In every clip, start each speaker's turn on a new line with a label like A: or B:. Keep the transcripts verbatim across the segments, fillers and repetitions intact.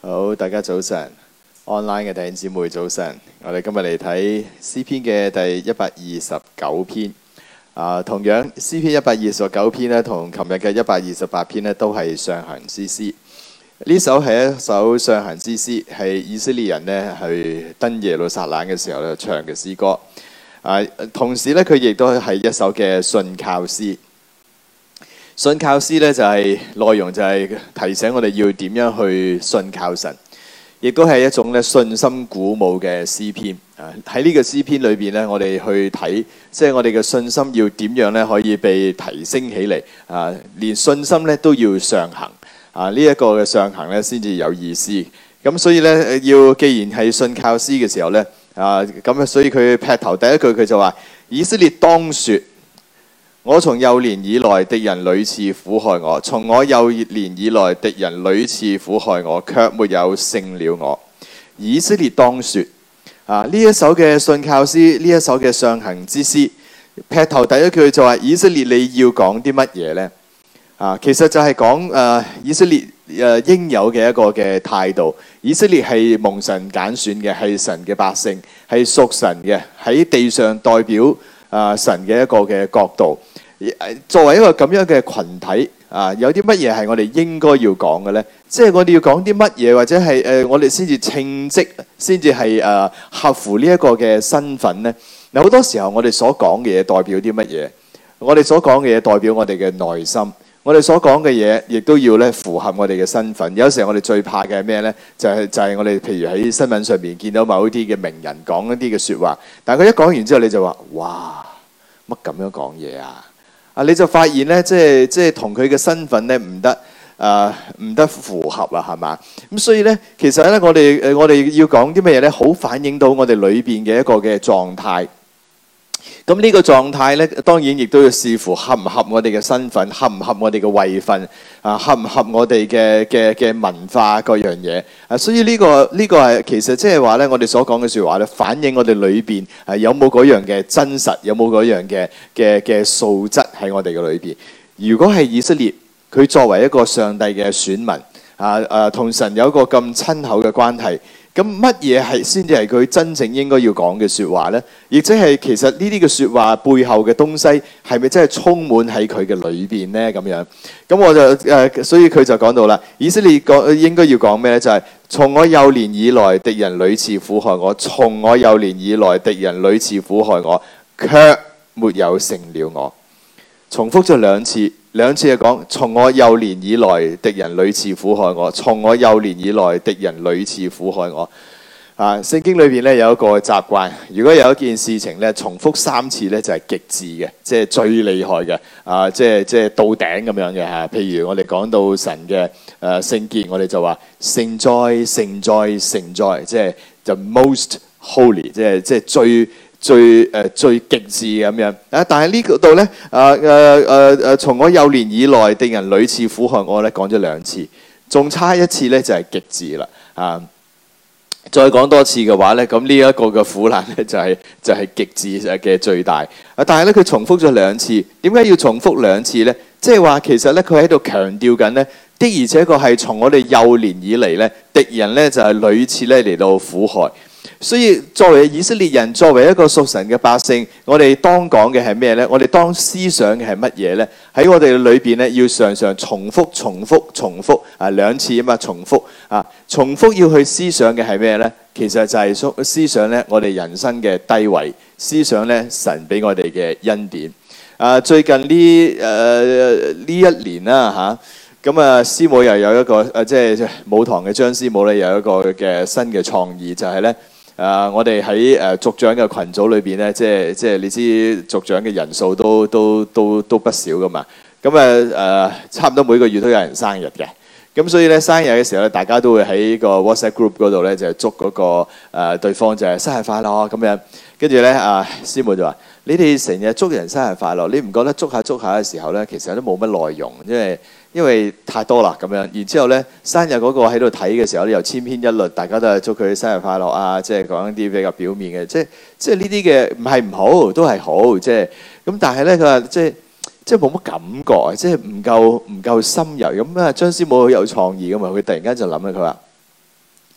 A: 好，大家早晨 ，online 嘅弟兄姊妹早晨。我哋今日嚟睇詩篇嘅第一百二十九篇。啊，同樣詩篇一百二十九篇咧，同琴日嘅一百二十八篇咧，都係上行之詩。呢首係一首上行之詩，係以色列人咧去登耶路撒冷嘅時候咧唱嘅詩歌。啊，同時咧佢亦都係一首嘅信靠詩。信靠詩咧就係、是、內容就係提醒我哋要點樣去信靠神，亦都係一種咧信心鼓舞嘅詩篇。啊，喺呢個詩篇裏邊咧，我哋去睇，即係我哋嘅信心要點樣咧可以被提升起嚟。啊，連信心咧都要上行。啊，呢、這、一個嘅上行咧先至有意思。咁所以咧要既然係信靠詩嘅時候咧，啊咁啊，所以佢劈頭第一句佢就話：以色列當說。我從幼年以來，敵人屢次苦害我；從我幼年以來，敵人屢次苦害我，卻沒有勝了我。以色列當說：啊，呢一首嘅信靠詩，呢一首嘅上行之詩，劈頭第一句就話：以色列你要講啲乜嘢呢？啊，其實就係講誒以色列誒、呃、應有嘅一個嘅態度。以色列係蒙神揀選嘅，係神嘅百姓，係屬神嘅，喺地上代表啊、呃、神嘅一個嘅角度。作為一個咁樣嘅群體啊，有啲乜嘢係我哋應該要講嘅呢？即係我哋要講啲乜嘢，或者係誒、呃、我哋先至稱職，先至係誒合乎呢一個嘅身份呢？嗱，好多時候我哋所講嘅嘢代表啲乜嘢？我哋所講嘅嘢代表我哋嘅內心，我哋所講嘅嘢亦都要咧符合我哋嘅身份。有時候我哋最怕嘅係咩呢？就係、是、就係、是、我哋譬如喺新聞上面見到某一啲嘅名人講一啲嘅説話，但係佢一講完之後你就話：哇，乜咁樣講嘢啊？啊！你就發現咧，即係即係同佢嘅身份咧唔得，誒、呃、唔得符合啊，係嘛？咁所以咧，其實咧，我哋誒我哋要講啲乜嘢咧，好反映到我哋裏邊嘅一個嘅狀態。咁呢個狀態咧，當然亦都要視乎合唔合我哋嘅身份，合唔合我哋嘅位份，啊，合唔合我哋嘅嘅嘅文化各樣嘢啊。所以呢個呢個係其實即係話咧，我哋所講嘅説話咧，反映我哋裏邊係有冇嗰樣嘅真實，有冇嗰樣嘅嘅嘅素質喺我哋嘅裏邊。如果係以色列，佢作為一個上帝嘅選民啊啊，同神有一個咁親厚嘅關係。咁乜嘢係先至係佢真正應該要講嘅説話呢？亦即係其實呢啲嘅説話背後嘅東西係咪真係充滿喺佢嘅裏邊呢？咁樣咁我就誒、呃，所以佢就講到啦，以色列講應該要講咩呢？就係、是、從我幼年以來，敵人屢次苦害我；從我幼年以來，敵人屢次苦害我，卻沒有勝了我。重複咗兩次。兩次係講，從我幼年以來，敵人屢次苦害我；從我幼年以來，敵人屢次苦害我。啊，聖經裏邊咧有一個習慣，如果有一件事情咧重複三次咧，就係極致嘅，即係最厲害嘅。啊，即係即係到頂咁樣嘅嚇。譬如我哋講到神嘅誒聖潔，我哋就話聖哉聖哉聖哉，即係 the most holy，即係即係最。最誒、呃、最極致咁樣啊！但係呢個度咧，誒誒誒誒，從我幼年以來，敵人屢次苦害我咧，講咗兩次，仲差一次咧就係、是、極致啦啊！再講多次嘅話咧，咁呢一個嘅苦難咧就係、是、就係、是、極致嘅最大啊！但係咧佢重複咗兩次，點解要重複兩次咧？即係話其實咧佢喺度強調緊咧，的而且確係從我哋幼年以嚟咧，敵人咧就係、是、屢次咧嚟到苦害。所以作為以色列人，作為一個屬神嘅百姓，我哋當講嘅係咩呢？我哋當思想嘅係乜嘢呢？喺我哋裏邊咧，要常常重複、重複、重複啊兩次啊嘛，重複啊，重複要去思想嘅係咩呢？其實就係思想咧，我哋人生嘅低位，思想咧神俾我哋嘅恩典。啊，最近呢誒呢一年啦嚇。咁啊，師母又有一個誒，即係舞堂嘅張師母咧，有一個嘅新嘅創意，就係咧誒，我哋喺誒族長嘅群組裏邊咧，即係即係你知族長嘅人數都都都都不少噶嘛。咁啊誒，差唔多每個月都有人生日嘅。咁所以咧，生日嘅時候咧，大家都會喺個 WhatsApp group 嗰度咧，就係祝嗰個誒對方就係生日快樂咁樣。跟住咧，啊師母就話：你哋成日祝人生日快樂，你唔覺得祝下祝下嘅時候咧，其實都冇乜內容，因為因為太多啦咁樣。然之後咧，生日嗰個喺度睇嘅時候咧，又千篇一律，大家都係祝佢生日快樂啊，即係講一啲比較表面嘅，即係即係呢啲嘅唔係唔好，都係好，即係咁。但係咧，佢話即係即係冇乜感覺，即係唔夠唔夠深入咁啊。張師母好有創意㗎嘛，佢突然間就諗啦，佢話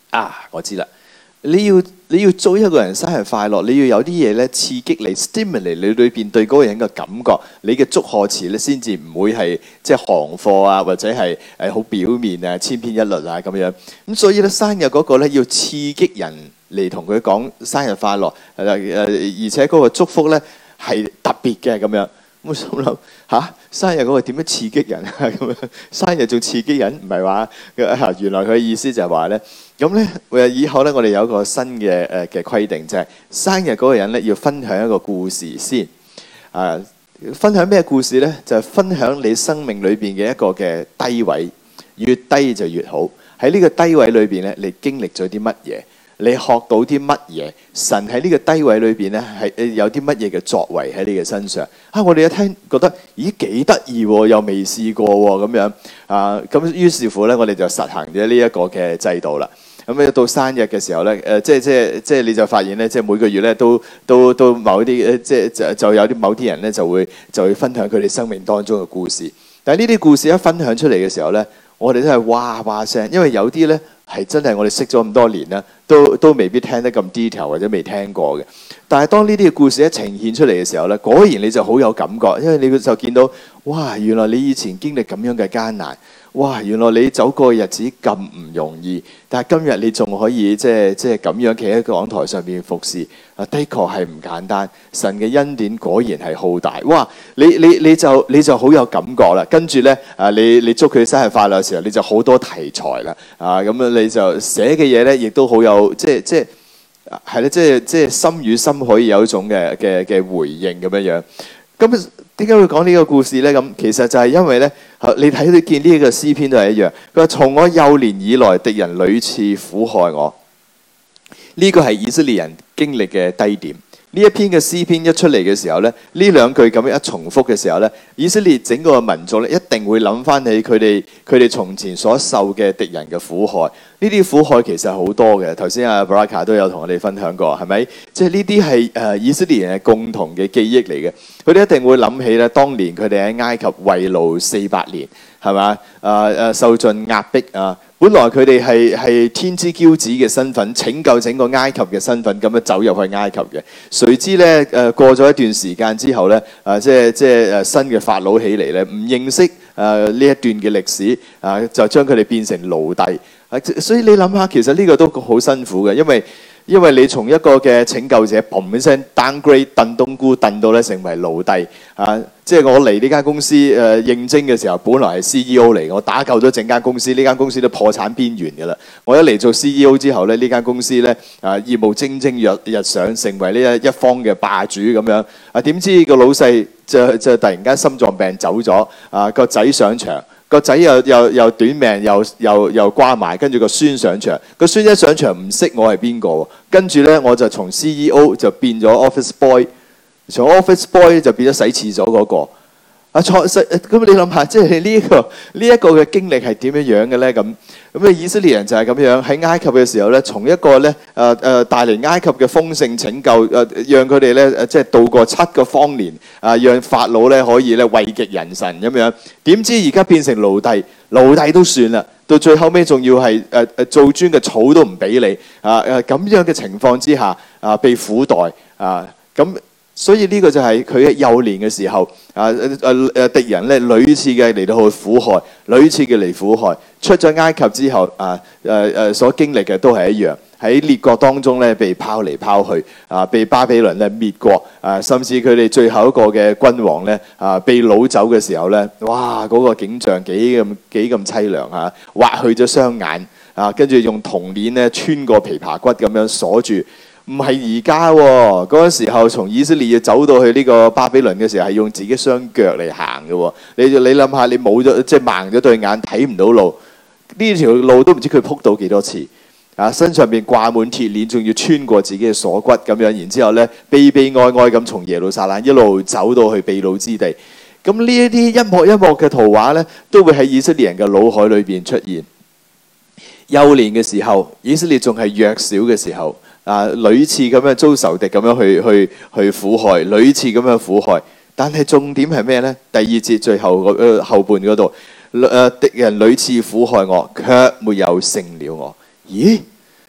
A: 啊，我知啦。你要你要祝一個人生日快樂，你要有啲嘢咧刺激你 stimulate 你裏邊對嗰個人嘅感覺，你嘅祝賀詞咧先至唔會係即係行貨啊，或者係誒好表面啊、千篇一律啊咁樣。咁所以咧生日嗰個咧要刺激人嚟同佢講生日快樂，誒誒，而且嗰個祝福咧係特別嘅咁樣。我心諗嚇，生日嗰個點樣刺激人啊？咁樣生日仲刺激人，唔係話原來佢嘅意思就係話咧，咁咧誒以後咧，我哋有一個新嘅誒嘅規定，就係、是、生日嗰個人咧要分享一個故事先。啊，分享咩故事咧？就係、是、分享你生命裏邊嘅一個嘅低位，越低就越好。喺呢個低位裏邊咧，你經歷咗啲乜嘢？你學到啲乜嘢？神喺呢個低位裏邊咧，係有啲乜嘢嘅作為喺你嘅身上啊！我哋一聽覺得，咦幾得意喎，又未試過喎咁樣啊！咁於是乎咧，我哋就實行咗呢一個嘅制度啦。咁一到生日嘅時候咧，誒、呃、即係即係即係你就發現咧，即係每個月咧都都都某啲誒即係就就有啲某啲人咧就會就會分享佢哋生命當中嘅故事。但係呢啲故事一分享出嚟嘅時候咧，我哋都係哇哇聲，因為有啲咧係真係我哋識咗咁多年啦，都都未必聽得咁 detail 或者未聽過嘅。但係當呢啲嘅故事一呈現出嚟嘅時候咧，果然你就好有感覺，因為你就見到哇，原來你以前經歷咁樣嘅艱難，哇，原來你走過嘅日子咁唔容易，但係今日你仲可以即係即係咁樣企喺講台上面服侍，啊，的確係唔簡單。神嘅恩典果然係浩大，哇！你你你就你就好有感覺啦。跟住咧啊，你你祝佢生日快樂嘅時候，你就好多題材啦，啊咁樣你就寫嘅嘢咧，亦都好有即係即係係咧，即係即係心與心可以有一種嘅嘅嘅回應咁樣樣。咁點解會講呢個故事咧？咁其實就係因為咧，你睇到見呢一個詩篇都係一樣。佢話：從我幼年以來，敵人屢次苦害我。呢個係以色列人經歷嘅低點。呢一篇嘅詩篇一出嚟嘅時候咧，呢兩句咁樣一重複嘅時候咧，以色列整個民族咧一定會諗翻起佢哋佢哋從前所受嘅敵人嘅苦害。呢啲苦害其實好多嘅。頭先阿 Baraka 都有同我哋分享過，係咪？即係呢啲係誒以色列人嘅共同嘅記憶嚟嘅。佢哋一定會諗起咧，當年佢哋喺埃及為奴四百年，係嘛？誒誒受盡壓迫啊！本來佢哋係係天之驕子嘅身份，拯救整個埃及嘅身份，咁樣走入去埃及嘅。誰知咧誒過咗一段時間之後咧，誒即係即係誒新嘅法老起嚟咧，唔認識誒呢一段嘅歷史啊，就將佢哋變成奴隸。所以你諗下，其實呢個都好辛苦嘅，因為因為你從一個嘅拯救者，砰一聲 downgrade 燉冬菇燉到咧成為奴隸啊！即係我嚟呢間公司誒、呃、應徵嘅時候，本來係 C E O 嚟，我打救咗整間公司，呢間公司都破產邊緣㗎啦。我一嚟做 C E O 之後咧，呢間公司咧啊業務蒸蒸日日上，成為呢一一方嘅霸主咁樣啊！點知個老細就就突然間心臟病走咗啊！個仔上場。個仔又又又短命，又又又瓜埋，跟住個孫上場，個孫一上場唔識我係邊個，跟住咧我就從 C E O 就變咗 office boy， 從 office boy 就變咗洗廁所嗰個。啊，錯咁你諗下，即係呢一個呢一個嘅經歷係點樣樣嘅咧？咁咁啊，以色列人就係咁樣喺埃及嘅時候咧，從一個咧誒誒帶嚟埃及嘅豐盛拯救誒、呃，讓佢哋咧誒即係度過七個荒年啊、呃，讓法老咧可以咧位極人臣咁樣。點知而家變成奴隸，奴隸都算啦，到最後尾仲要係誒誒做磚嘅草都唔俾你啊誒咁樣嘅情況之下啊，被苦待啊咁。所以呢個就係佢喺幼年嘅時候，啊誒誒誒敵人咧屢次嘅嚟到去苦害，屢次嘅嚟苦害。出咗埃及之後，啊誒誒所經歷嘅都係一樣，喺列國當中咧被拋嚟拋去，啊被巴比倫咧滅國，啊甚至佢哋最後一個嘅君王咧啊被擄走嘅時候咧，哇嗰、那個景象幾咁幾咁凄涼嚇，挖去咗雙眼，啊跟住用銅鏈咧穿過琵琶骨咁樣鎖住。唔係而家喎，嗰陣時候從以色列要走到去呢個巴比倫嘅時候，係用自己雙腳嚟行嘅喎。你你諗下，你冇咗即係盲咗對眼，睇唔到路，呢條路都唔知佢撲到幾多次啊！身上邊掛滿鐵鏈，仲要穿過自己嘅鎖骨咁樣，然之後咧悲悲哀哀咁從耶路撒冷一路走到去被擄之地。咁呢一啲一幕一幕嘅圖畫咧，都會喺以色列人嘅腦海裏邊出現。幼年嘅時候，以色列仲係弱小嘅時候。啊！屢次咁樣遭仇敵咁樣去去去苦害，屢次咁樣苦害。但係重點係咩呢？第二節最後個、呃、後半嗰度，誒、呃、敵人屢次苦害我，卻沒有勝了我。咦？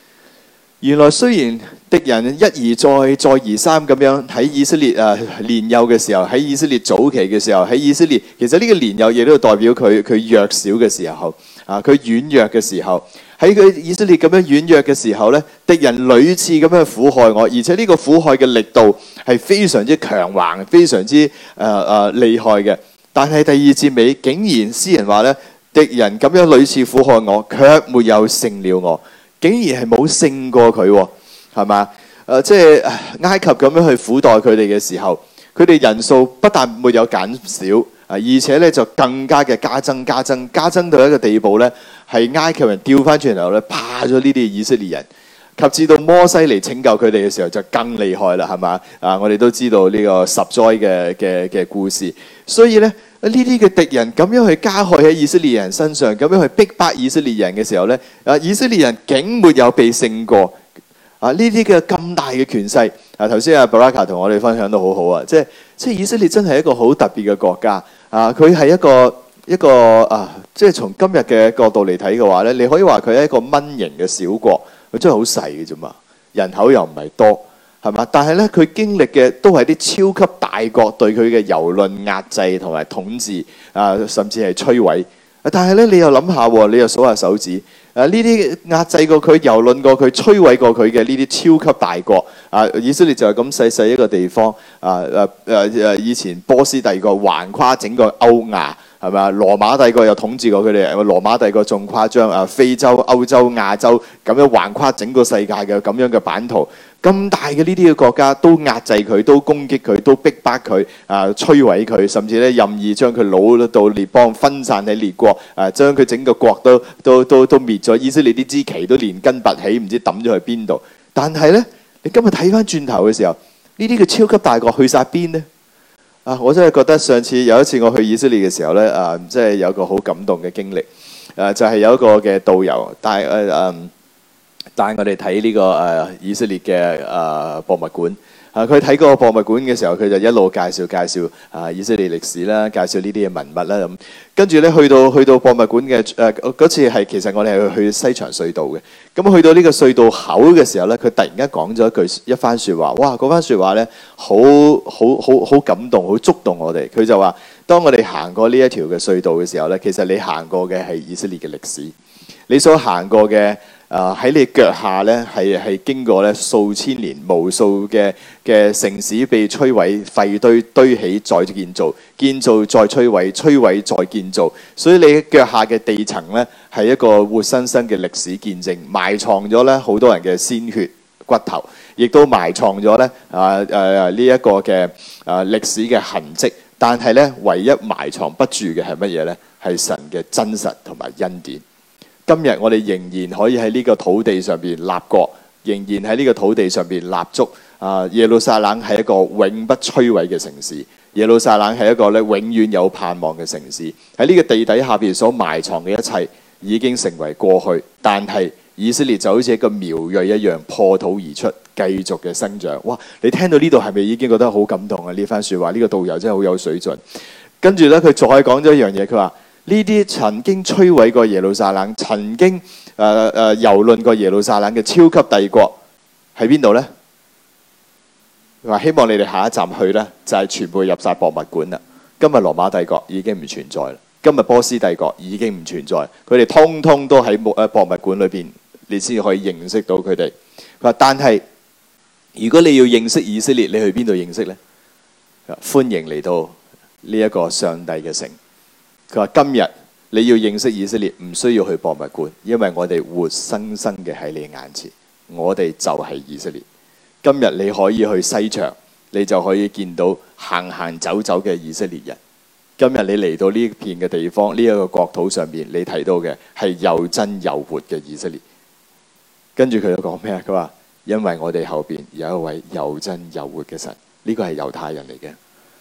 A: 原來雖然敵人一而再、再而三咁樣喺以色列啊年幼嘅時候，喺以色列早期嘅時候，喺以色列其實呢個年幼亦都代表佢佢弱小嘅時候啊，佢軟弱嘅時候，喺佢以色列咁樣軟弱嘅時候咧，敵人屢次咁樣苦害我，而且呢個苦害嘅力度係非常之強橫、非常之誒誒、呃呃、厲害嘅。但係第二節尾竟然詩人話咧，敵人咁樣屢次苦害我，卻沒有勝了我。竟然係冇勝過佢喎，係嘛？誒、呃，即係埃及咁樣去苦待佢哋嘅時候，佢哋人數不但沒有減少，啊，而且咧就更加嘅加增、加增、加增到一個地步咧，係埃及人調翻轉頭咧，怕咗呢啲以色列人。及至到摩西嚟拯救佢哋嘅時候，就更厲害啦，係嘛？啊，我哋都知道呢個十災嘅嘅嘅故事，所以咧。呢啲嘅敵人咁樣去加害喺以色列人身上，咁樣去逼迫以色列人嘅時候咧，啊，以色列人竟沒有被勝過啊！呢啲嘅咁大嘅權勢啊，頭先阿布拉卡同我哋分享得好好啊，即係即係以色列真係一個好特別嘅國家啊！佢係一個一個啊，即係從今日嘅角度嚟睇嘅話咧，你可以話佢係一個蚊型嘅小國，佢真係好細嘅啫嘛，人口又唔係多。係嘛？但係咧，佢經歷嘅都係啲超級大國對佢嘅蹂躪、壓制同埋統治啊，甚至係摧毀。但係咧，你又諗下，你又數下手指，誒呢啲壓制過佢、蹂躪過佢、摧毀過佢嘅呢啲超級大國啊，以色列就係咁細細一個地方啊誒誒誒，以前波斯帝國橫跨整個歐亞。係咪啊？羅馬帝國又統治過佢哋，羅馬帝國仲誇張啊！非洲、歐洲、亞洲咁樣橫跨整個世界嘅咁樣嘅版圖，咁大嘅呢啲嘅國家都壓制佢，都攻擊佢，都逼迫佢啊，摧毀佢，甚至咧任意將佢擄到列邦，分散喺列國啊，將佢整個國都都都都滅咗。以色列啲支旗都連根拔起，唔知抌咗去邊度。但係咧，你今日睇翻轉頭嘅時候，呢啲嘅超級大國去晒邊呢？啊！我真係覺得上次有一次我去以色列嘅時候咧，啊，即係有個好感動嘅經歷。誒、啊，就係、是、有一個嘅導遊帶誒誒帶我哋睇呢個誒、啊、以色列嘅誒、啊、博物館。啊，佢睇嗰個博物館嘅時候，佢就一路介紹介紹啊以色列歷史啦，介紹呢啲嘅文物啦咁。跟住咧去到去到博物館嘅誒嗰次係其實我哋係去西牆隧道嘅。咁去到呢個隧道口嘅時候咧，佢突然間講咗一句一番説話，哇！嗰番説話咧好好好好感動，好觸動我哋。佢就話：當我哋行過呢一條嘅隧道嘅時候咧，其實你行過嘅係以色列嘅歷史，你所行過嘅。啊！喺你腳下咧，係係經過咧數千年、無數嘅嘅城市被摧毀、廢堆堆起再建造、建造再摧毀、摧毀再建造。所以你腳下嘅地層咧，係一個活生生嘅歷史見證，埋藏咗咧好多人嘅鮮血骨頭，亦都埋藏咗咧啊誒呢一個嘅啊歷史嘅痕跡。但係咧，唯一埋藏不住嘅係乜嘢咧？係神嘅真實同埋恩典。今日我哋仍然可以喺呢個土地上邊立國，仍然喺呢個土地上邊立足。啊，耶路撒冷係一個永不摧毀嘅城市，耶路撒冷係一個咧永遠有盼望嘅城市。喺呢個地底下邊所埋藏嘅一切已經成為過去，但係以色列就好似一個苗裔一樣破土而出，繼續嘅生長。哇！你聽到呢度係咪已經覺得好感動啊？呢番説話，呢個導遊真係好有水準。跟住咧，佢再講咗一樣嘢，佢話。呢啲曾經摧毀過耶路撒冷、曾經誒誒蹂躪過耶路撒冷嘅超級帝國喺邊度呢？佢話希望你哋下一站去呢，就係、是、全部入晒博物館啦。今日羅馬帝國已經唔存在啦，今日波斯帝國已經唔存在，佢哋通通都喺博博物館裏邊，你先可以認識到佢哋。佢話：但係如果你要認識以色列，你去邊度認識呢？歡迎嚟到呢一個上帝嘅城。佢話：今日你要認識以色列，唔需要去博物館，因為我哋活生生嘅喺你眼前，我哋就係以色列。今日你可以去西牆，你就可以見到行行走走嘅以色列人。今日你嚟到呢片嘅地方，呢、這、一個國土上邊，你睇到嘅係又真又活嘅以色列。跟住佢又講咩啊？佢話：因為我哋後邊有一位又真又活嘅神，呢、這個係猶太人嚟嘅。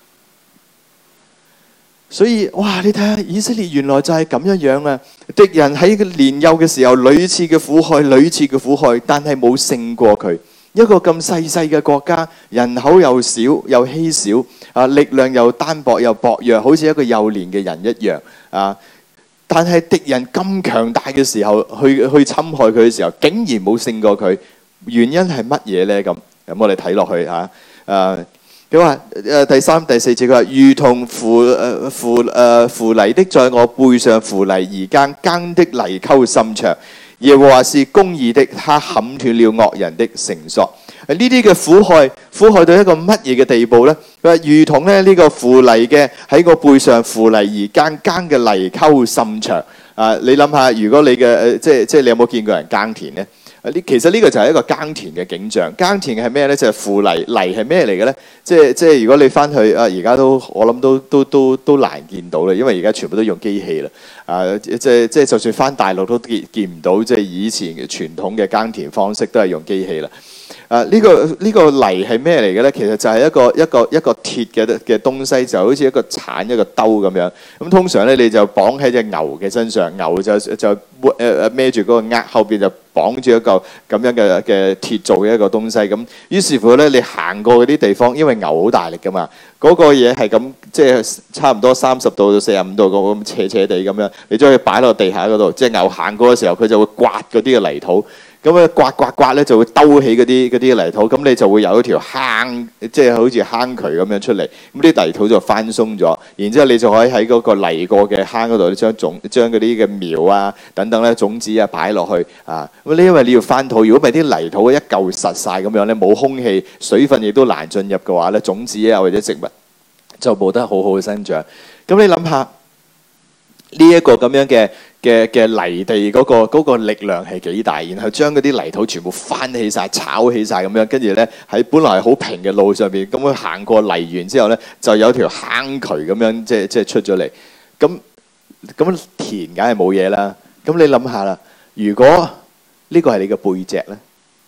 A: 所以哇，你睇下以色列原來就係咁樣樣啊！敵人喺年幼嘅時候屢次嘅苦害，屢次嘅苦害，但係冇勝過佢。一個咁細細嘅國家，人口又少又稀少啊，力量又單薄又薄弱，好似一個幼年嘅人一樣啊！但係敵人咁強大嘅時候，去去侵害佢嘅時候，竟然冇勝過佢。 原因係乜嘢咧？咁咁我哋睇落去嚇誒。佢話誒第三第四節，佢話如同扶誒扶誒扶泥的在我背上扶泥而耕，耕的泥溝甚長。耶和華是公義的，他砍斷了惡人的繩索。呢啲嘅苦害，苦害到一個乜嘢嘅地步咧？佢話如同咧呢個扶泥嘅喺個背上扶泥而耕，耕嘅泥溝甚長。啊，你諗下，如果你嘅誒即係即係你有冇見過人耕田咧？呢其實呢個就係一個耕田嘅景象。耕田係咩咧？就係、是、扶泥，泥係咩嚟嘅咧？即係即係如果你翻去啊，而家都我諗都都都都難見到啦，因為而家全部都用機器啦。啊，即係即係就算翻大陸都見見唔到，即係以前嘅傳統嘅耕田方式都係用機器啦。啊，呢、這個呢、這個泥係咩嚟嘅咧？其實就係一個一個一個鐵嘅嘅東西，就好似一個鏟一個兜咁樣。咁通常咧，你就綁喺隻牛嘅身上，牛就就誒誒孭住嗰個軛，後邊就綁住一個咁樣嘅嘅鐵做嘅一個東西。咁於是乎咧，你行過嗰啲地方，因為牛好大力噶嘛，嗰、那個嘢係咁即係差唔多三十度到四十五度咁斜斜地咁樣，你將佢擺落地下嗰度，即係牛行過嘅時候，佢就會刮嗰啲嘅泥土。咁啊刮刮刮咧就會兜起嗰啲嗰啲泥土，咁你就會有一條坑，即係好似坑渠咁樣出嚟。咁啲泥土就翻鬆咗，然之後你就可以喺嗰個泥過嘅坑嗰度，將種將嗰啲嘅苗啊等等咧種子啊擺落去啊。咁你因為你要翻土，如果唔係啲泥土一嚿實晒咁樣咧，冇空氣、水分亦都難進入嘅話咧，種子啊或者植物就冇得好好嘅生長。咁你諗下呢一個咁樣嘅嘅嘅泥地嗰個嗰個力量係幾大，然後將嗰啲泥土全部翻起晒、炒起晒咁樣，跟住咧喺本來係好平嘅路上邊，咁樣行過泥園之後咧，就有條坑渠咁樣，即係即係出咗嚟。咁咁田梗係冇嘢啦。咁你諗下啦，如果呢個係你嘅背脊咧，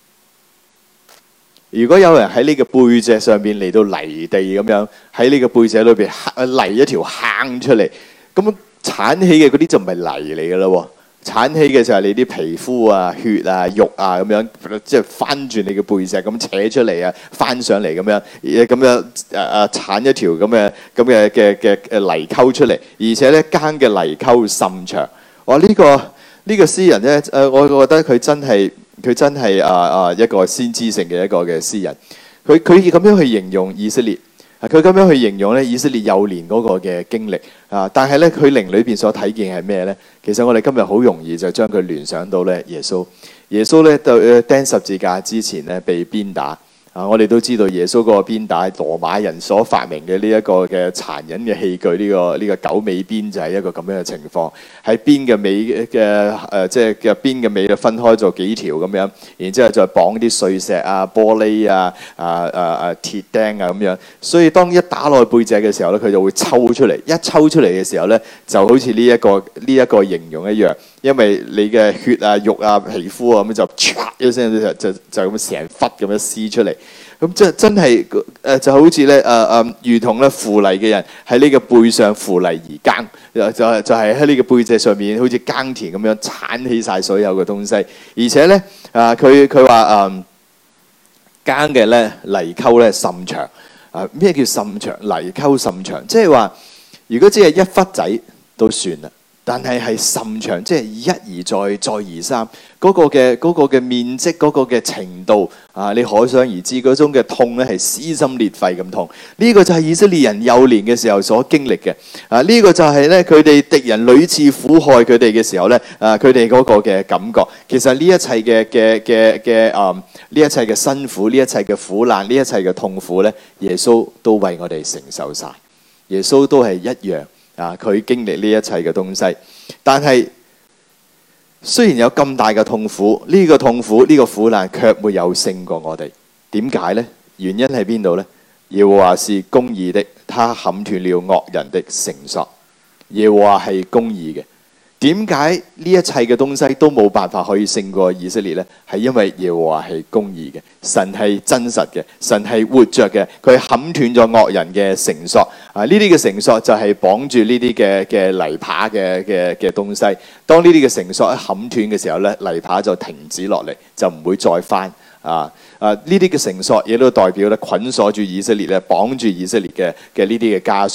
A: 如果有人喺呢個背脊上邊嚟到泥地咁樣，喺呢個背脊裏邊泥一條坑出嚟，咁鏟起嘅嗰啲就唔係泥嚟嘅啦，鏟起嘅就係你啲皮膚啊、血啊、肉啊咁樣，即係翻住你嘅背脊咁扯出嚟啊，翻上嚟咁樣，咁樣誒誒鏟一條咁嘅咁嘅嘅嘅誒泥溝出嚟，而且咧耕嘅泥溝甚長。哇！呢、這個呢、這個詩人咧，誒，我覺得佢真係佢真係啊啊一個先知性嘅一個嘅詩人，佢佢咁樣去形容以色列。佢咁樣去形容咧以色列幼年嗰個嘅經歷啊，但係咧佢靈裏邊所睇見係咩咧？其實我哋今日好容易就將佢聯想到咧耶穌。耶穌咧到釘十字架之前咧被鞭打啊！我哋都知道耶穌嗰個鞭打係羅馬人所發明嘅呢一個嘅殘忍嘅器具，呢、這個呢、這個九尾鞭就係一個咁樣嘅情況。喺鞭嘅尾嘅誒，即係嘅鞭嘅尾就分開咗幾條咁樣，然之後再綁啲碎石啊、玻璃啊、啊啊啊鐵釘啊咁樣。所以當一打落去背脊嘅時候咧，佢就會抽出嚟。一抽出嚟嘅時候咧，就好似呢一個呢一個形容一樣，因為你嘅血啊、肉啊、皮膚啊咁就唰一聲就就就咁成忽咁樣撕出嚟。咁即係真係誒，就好似咧誒誒，如同咧扶泥嘅人喺呢個背上扶泥而耕，就係就係喺呢個背脊上面，好似耕田咁樣鏟起晒所有嘅東西。而且咧啊，佢佢話誒耕嘅咧泥溝咧甚長啊！咩叫甚長？泥溝甚長，即係話如果只係一忽仔都算啦。但係係甚長，即係一而再，再而三，嗰個嘅嗰個嘅面積，嗰個嘅程度啊，你可想而知嗰種嘅痛咧係撕心裂肺咁痛。呢個就係以色列人幼年嘅時候所經歷嘅啊，呢個就係咧佢哋敵人屢次苦害佢哋嘅時候咧啊，佢哋嗰個嘅感覺。其實呢一切嘅嘅嘅嘅啊，呢一切嘅辛苦，呢一切嘅苦難，呢一切嘅痛苦咧，耶穌都為我哋承受晒。耶穌都係一樣。啊！佢經歷呢一切嘅東西，但係雖然有咁大嘅痛苦，呢個痛苦呢個苦難卻沒有勝過我哋。點解呢？原因喺邊度呢？耶和華是公義的，他砍斷了惡人的繩索。耶和華係公義嘅。點解呢一切嘅東西都冇辦法可以勝過以色列呢？係因為耶和華係公義嘅，神係真實嘅，神係活着嘅，佢砍斷咗惡人嘅繩索啊！呢啲嘅繩索就係綁住呢啲嘅嘅泥耙嘅嘅嘅東西。當呢啲嘅繩索一砍斷嘅時候咧，泥耙就停止落嚟，就唔會再翻啊！啊！呢啲嘅繩索亦都代表咧捆鎖住以色列咧，綁住以色列嘅嘅呢啲嘅枷鎖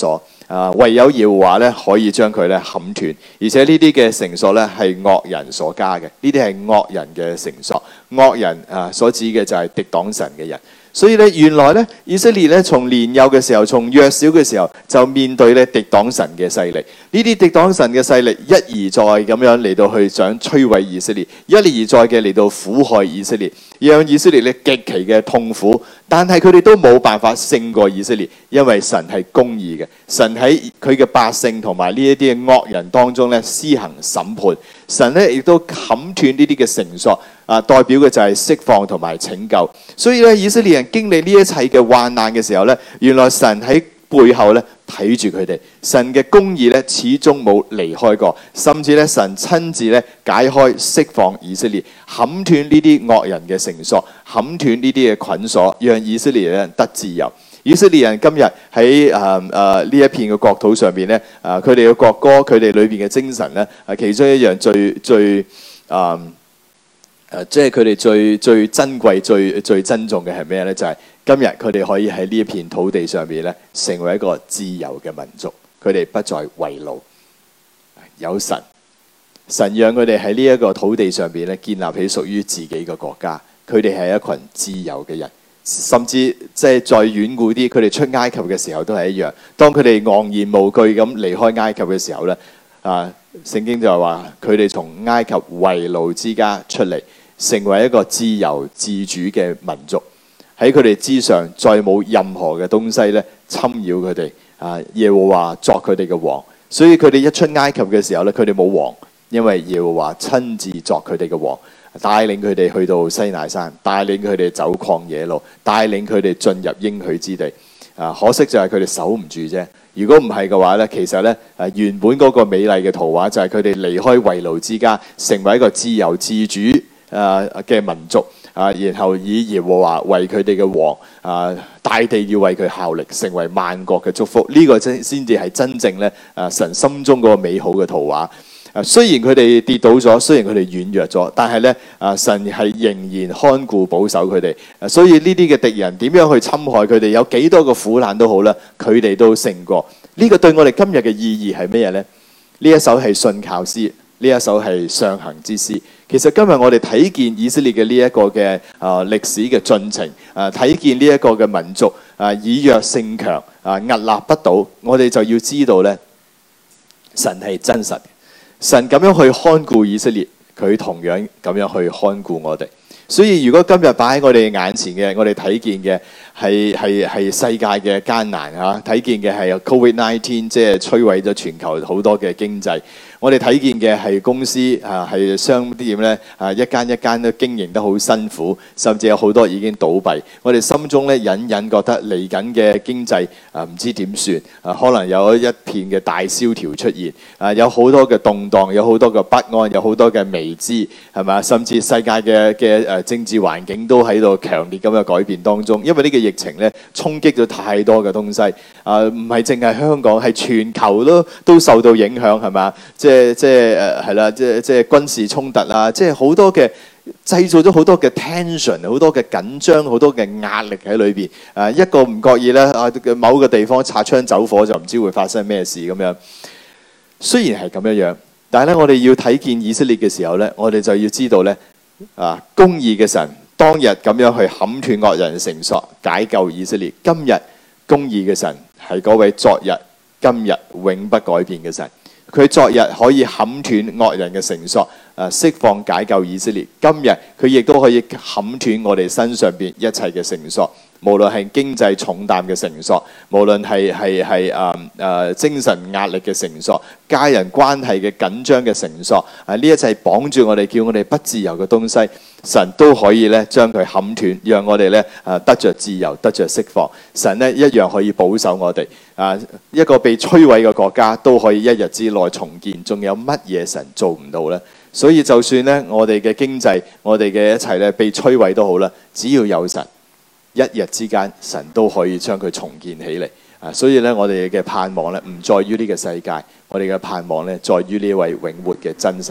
A: 啊，唯有耶和華咧可以將佢咧砍斷，而且呢啲嘅繩索咧係惡人所加嘅，呢啲係惡人嘅繩索，惡人啊所指嘅就係敵擋神嘅人。所以咧，原來咧，以色列咧，從年幼嘅時候，從弱小嘅時候，就面對咧敵擋神嘅勢力。呢啲敵擋神嘅勢力一而再咁樣嚟到去想摧毀以色列，一而再嘅嚟到苦害以色列，讓以色列咧極其嘅痛苦。但係佢哋都冇辦法勝過以色列，因為神係公義嘅，神喺佢嘅百姓同埋呢一啲嘅惡人當中咧施行審判。神咧亦都砍斷呢啲嘅繩索。啊，代表嘅就係釋放同埋拯救，所以咧，以色列人經歷呢一切嘅患難嘅時候咧，原來神喺背後咧睇住佢哋，神嘅公義咧始終冇離開過，甚至咧神親自咧解開釋放以色列，砍斷呢啲惡人嘅繩索，砍斷呢啲嘅捆鎖，讓以色列人得自由。以色列人今日喺誒誒呢一片嘅國土上邊咧，啊佢哋嘅國歌，佢哋裏邊嘅精神咧，啊其中一樣最最誒。呃誒，即係佢哋最最珍貴、最最珍重嘅係咩呢？就係、是、今日佢哋可以喺呢一片土地上面咧，成為一個自由嘅民族。佢哋不再為奴，有神，神讓佢哋喺呢一個土地上邊咧，建立起屬於自己嘅國家。佢哋係一群自由嘅人，甚至即係再遠古啲，佢哋出埃及嘅時候都係一樣。當佢哋昂然無懼咁離開埃及嘅時候咧，啊，聖經就係話佢哋從埃及為奴之家出嚟。成為一個自由自主嘅民族，喺佢哋之上再冇任何嘅東西咧侵擾佢哋。啊，耶和華作佢哋嘅王，所以佢哋一出埃及嘅時候咧，佢哋冇王，因為耶和華親自作佢哋嘅王，帶領佢哋去到西奈山，帶領佢哋走曠野路，帶領佢哋進入應許之地。啊，可惜就係佢哋守唔住啫。如果唔係嘅話咧，其實咧誒原本嗰個美麗嘅圖畫就係佢哋離開為奴之家，成為一個自由自主誒嘅民族啊，然後以耶和華為佢哋嘅王啊，大地要為佢效力，成為萬國嘅祝福。呢、這個真先至係真正咧誒神心中嗰個美好嘅圖畫。啊，雖然佢哋跌倒咗，雖然佢哋軟弱咗，但係咧啊，神係仍然看顧保守佢哋。啊，所以呢啲嘅敵人點樣去侵害佢哋，有幾多個苦難都好啦，佢哋都勝過。呢、這個對我哋今日嘅意義係咩嘢咧？呢一首係信靠詩，呢一首係上行之詩。其實今日我哋睇見以色列嘅呢一個嘅啊歷史嘅進程，啊睇見呢一個嘅民族啊以弱勝強，啊屹立不倒，我哋就要知道咧，神係真實，神咁樣去看顧以色列，佢同樣咁樣去看顧我哋。所以如果今日擺喺我哋眼前嘅，我哋睇見嘅係係係世界嘅艱難嚇，睇見嘅係 Covid 十九 即係摧毀咗全球好多嘅經濟。我哋睇見嘅係公司啊，係商店咧啊，一間一間都經營得好辛苦，甚至有好多已經倒閉。我哋心中咧隱隱覺得嚟緊嘅經濟啊，唔知點算啊，可能有一片嘅大蕭條出現啊，有好多嘅動盪，有好多嘅不安，有好多嘅未知，係咪？甚至世界嘅嘅誒政治環境都喺度強烈咁嘅改變當中，因為呢個疫情咧衝擊咗太多嘅東西啊，唔係淨係香港，係全球都都受到影響，係嘛？即係即係誒係啦，即係即係軍事衝突啊！即係好多嘅製造咗好多嘅 tension， 好多嘅緊張，好多嘅壓力喺裏邊。誒一個唔覺意咧啊，某個地方擦槍走火就唔知會發生咩事咁樣。雖然係咁樣樣，但係咧我哋要睇見以色列嘅時候咧，我哋就要知道咧啊，公義嘅神當日咁樣去砍斷惡人繩索，解救以色列。今日公義嘅神係嗰位昨日、今日永不改變嘅神。佢昨日可以砍斷惡人嘅繩索，誒釋放解救以色列。今日佢亦都可以砍斷我哋身上邊一切嘅繩索，無論係經濟重擔嘅繩索，無論係係係誒誒精神壓力嘅繩索，家人關係嘅緊張嘅繩索，啊呢一切綁住我哋，叫我哋不自由嘅東西，神都可以咧將佢砍斷，讓我哋咧誒得着自由，得着釋放。神咧一樣可以保守我哋。啊，一個被摧毀嘅國家都可以一日之內重建，仲有乜嘢神做唔到呢？所以就算咧我哋嘅經濟，我哋嘅一切咧被摧毀都好啦，只要有神，一日之間神都可以將佢重建起嚟。啊，所以咧我哋嘅盼望咧唔在於呢個世界，我哋嘅盼望咧在於呢位永活嘅真神。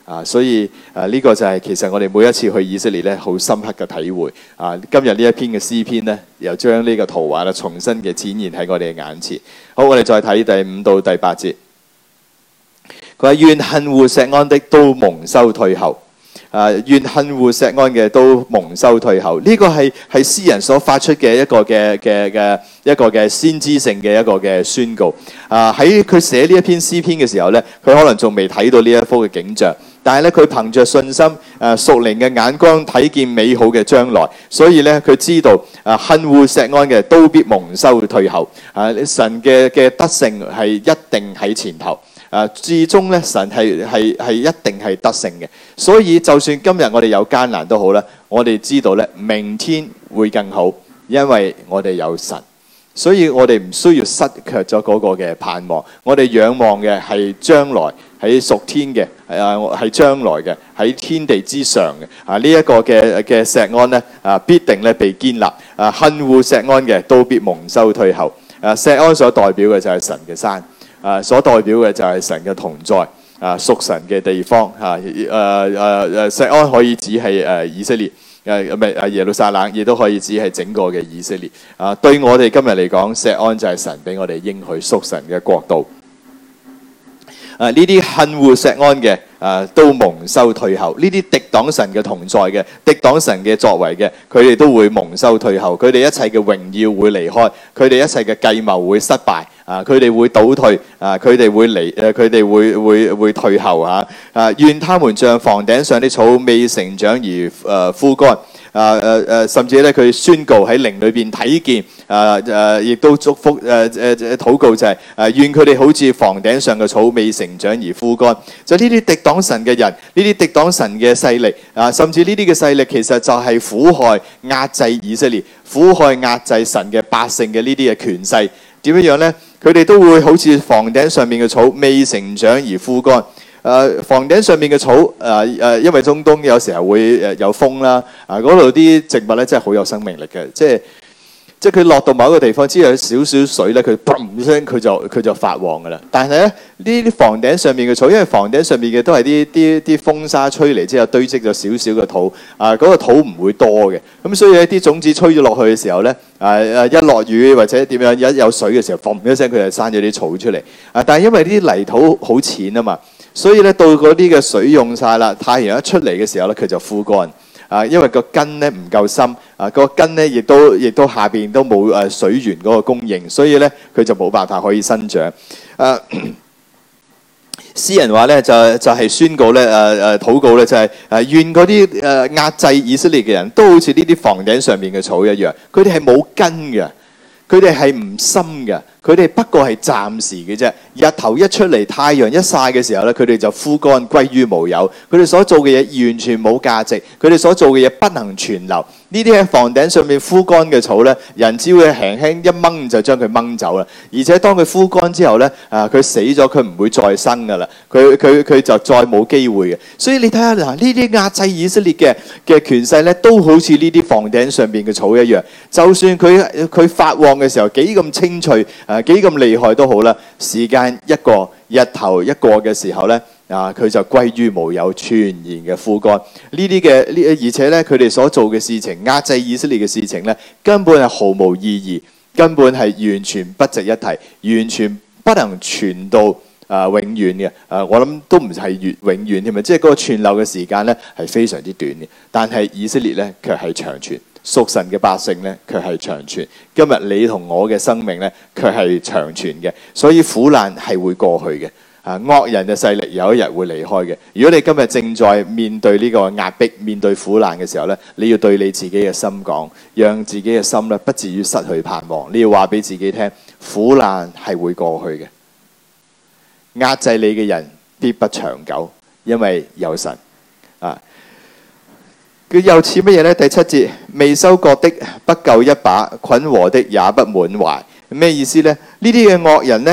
A: 啊，所以啊呢、這個就係其實我哋每一次去以色列咧，好深刻嘅體會啊。今日呢一篇嘅詩篇咧，又將呢個圖畫咧重新嘅展現喺我哋嘅眼前。好，我哋再睇第五到第八節。佢話願恨惡錫安的都蒙羞退後。啊！願恨惡錫安嘅都蒙羞退後，呢、這個係係詩人所發出嘅一個嘅嘅嘅一個嘅先知性嘅一個嘅宣告。啊！喺佢寫呢一篇詩篇嘅時候咧，佢可能仲未睇到呢一幅嘅景象，但係咧佢憑着信心，誒屬靈嘅眼光睇見美好嘅將來，所以咧佢知道啊恨惡錫安嘅都必蒙羞退後。啊！神嘅嘅德性係一定喺前頭。啊，至終咧，神係係係一定係得勝嘅，所以就算今日我哋有艱難都好啦，我哋知道咧，明天會更好，因為我哋有神，所以我哋唔需要失卻咗嗰個嘅盼望。我哋仰望嘅係將來喺屬天嘅，啊係將來嘅喺天地之上嘅啊呢一個嘅嘅錫安咧啊必定咧被堅立啊恨惡錫安嘅都必蒙羞退後啊錫安所代表嘅就係神嘅山。啊，所代表嘅就係神嘅同在，啊，屬神嘅地方，嚇，誒誒誒，錫安可以指係誒以色列，誒唔係誒耶路撒冷，亦都可以指係整個嘅以色列。啊，對我哋今日嚟講，錫安就係神俾我哋應許屬神嘅國度。啊，呢啲恨惡錫安嘅，啊都蒙羞退後；呢啲敵擋神嘅同在嘅，敵擋神嘅作為嘅，佢哋都會蒙羞退後。佢哋一切嘅榮耀會離開，佢哋一切嘅計謀會失敗。啊！佢哋會倒退，啊！佢哋會離，誒佢哋會會會退後嚇。啊！願他們像房頂上的草，未成長而誒、呃、枯乾。啊誒誒，甚至咧佢宣告喺靈裏邊睇見，啊誒，亦、啊、都祝福誒誒誒禱告就係、是、誒、啊、願佢哋好似房頂上嘅草，未成長而枯乾。就呢啲敵擋神嘅人，呢啲敵擋神嘅勢力，啊，甚至呢啲嘅勢力其實就係苦害壓制以色列、苦害壓制神嘅百姓嘅呢啲嘅權勢。點樣樣咧？佢哋都會好似房頂上面嘅草，未成長而枯乾。誒、呃，房頂上面嘅草，誒、呃、誒，因為中東有時候會誒有風啦，啊嗰度啲植物咧真係好有生命力嘅，即係即係佢落到某一個地方，只要有少少水咧，佢砰聲佢就佢就發旺噶啦。但係咧呢啲房頂上面嘅草，因為房頂上面嘅都係啲啲啲風沙吹嚟之後堆積咗少少嘅土，啊嗰、那個土唔會多嘅，咁所以咧啲種子吹咗落去嘅時候咧。啊啊！一落雨或者點樣，一有水嘅時候，嘣一聲佢就生咗啲草出嚟。啊！但係因為啲泥土好淺啊嘛，所以咧到嗰啲嘅水用晒啦，太陽一出嚟嘅時候咧，佢就枯乾。啊，因為個根咧唔夠深，啊個根咧亦都亦都下邊都冇誒水源嗰個供應，所以咧佢就冇辦法可以生長。啊！詩人話咧就就係宣告咧誒誒禱告咧就係誒願嗰啲誒壓制以色列嘅人都好似呢啲房頂上面嘅草一樣，佢哋係冇根嘅，佢哋係唔深嘅，佢哋不過係暫時嘅啫。日頭一出嚟，太陽一曬嘅時候咧，佢哋就枯乾歸於無有。佢哋所做嘅嘢完全冇價值，佢哋所做嘅嘢不能存留。呢啲喺房頂上面枯乾嘅草咧，人只會輕輕一掹就將佢掹走啦。而且當佢枯乾之後咧，啊佢死咗，佢唔會再生噶啦，佢佢佢就再冇機會嘅。所以你睇下嗱，呢啲壓制以色列嘅嘅權勢咧，都好似呢啲房頂上邊嘅草一樣。就算佢佢發旺嘅時候幾咁清脆，啊幾咁厲害都好啦，時間一過，日頭一過嘅時候咧。啊！佢就歸於無有，全然嘅枯乾。呢啲嘅呢，而且咧，佢哋所做嘅事情，壓制以色列嘅事情咧，根本係毫無意義，根本係完全不值一提，完全不能傳到啊、呃、永遠嘅。啊、呃，我諗都唔係越永遠添啊，即係嗰個存留嘅時間咧係非常之短嘅。但係以色列咧卻係長存，屬神嘅百姓咧卻係長存。今日你同我嘅生命咧卻係長存嘅，所以苦難係會過去嘅。啊！惡人嘅勢力有一日會離開嘅。如果你今日正在面對呢個壓迫、面對苦難嘅時候咧，你要對你自己嘅心講，讓自己嘅心咧不至於失去盼望。你要話俾自己聽，苦難係會過去嘅。壓制你嘅人必不長久，因為有神。啊！佢又似乜嘢呢？第七節，未收割的不夠一把，捆禾的也不滿懷。咩意思呢？呢啲嘅惡人呢？誒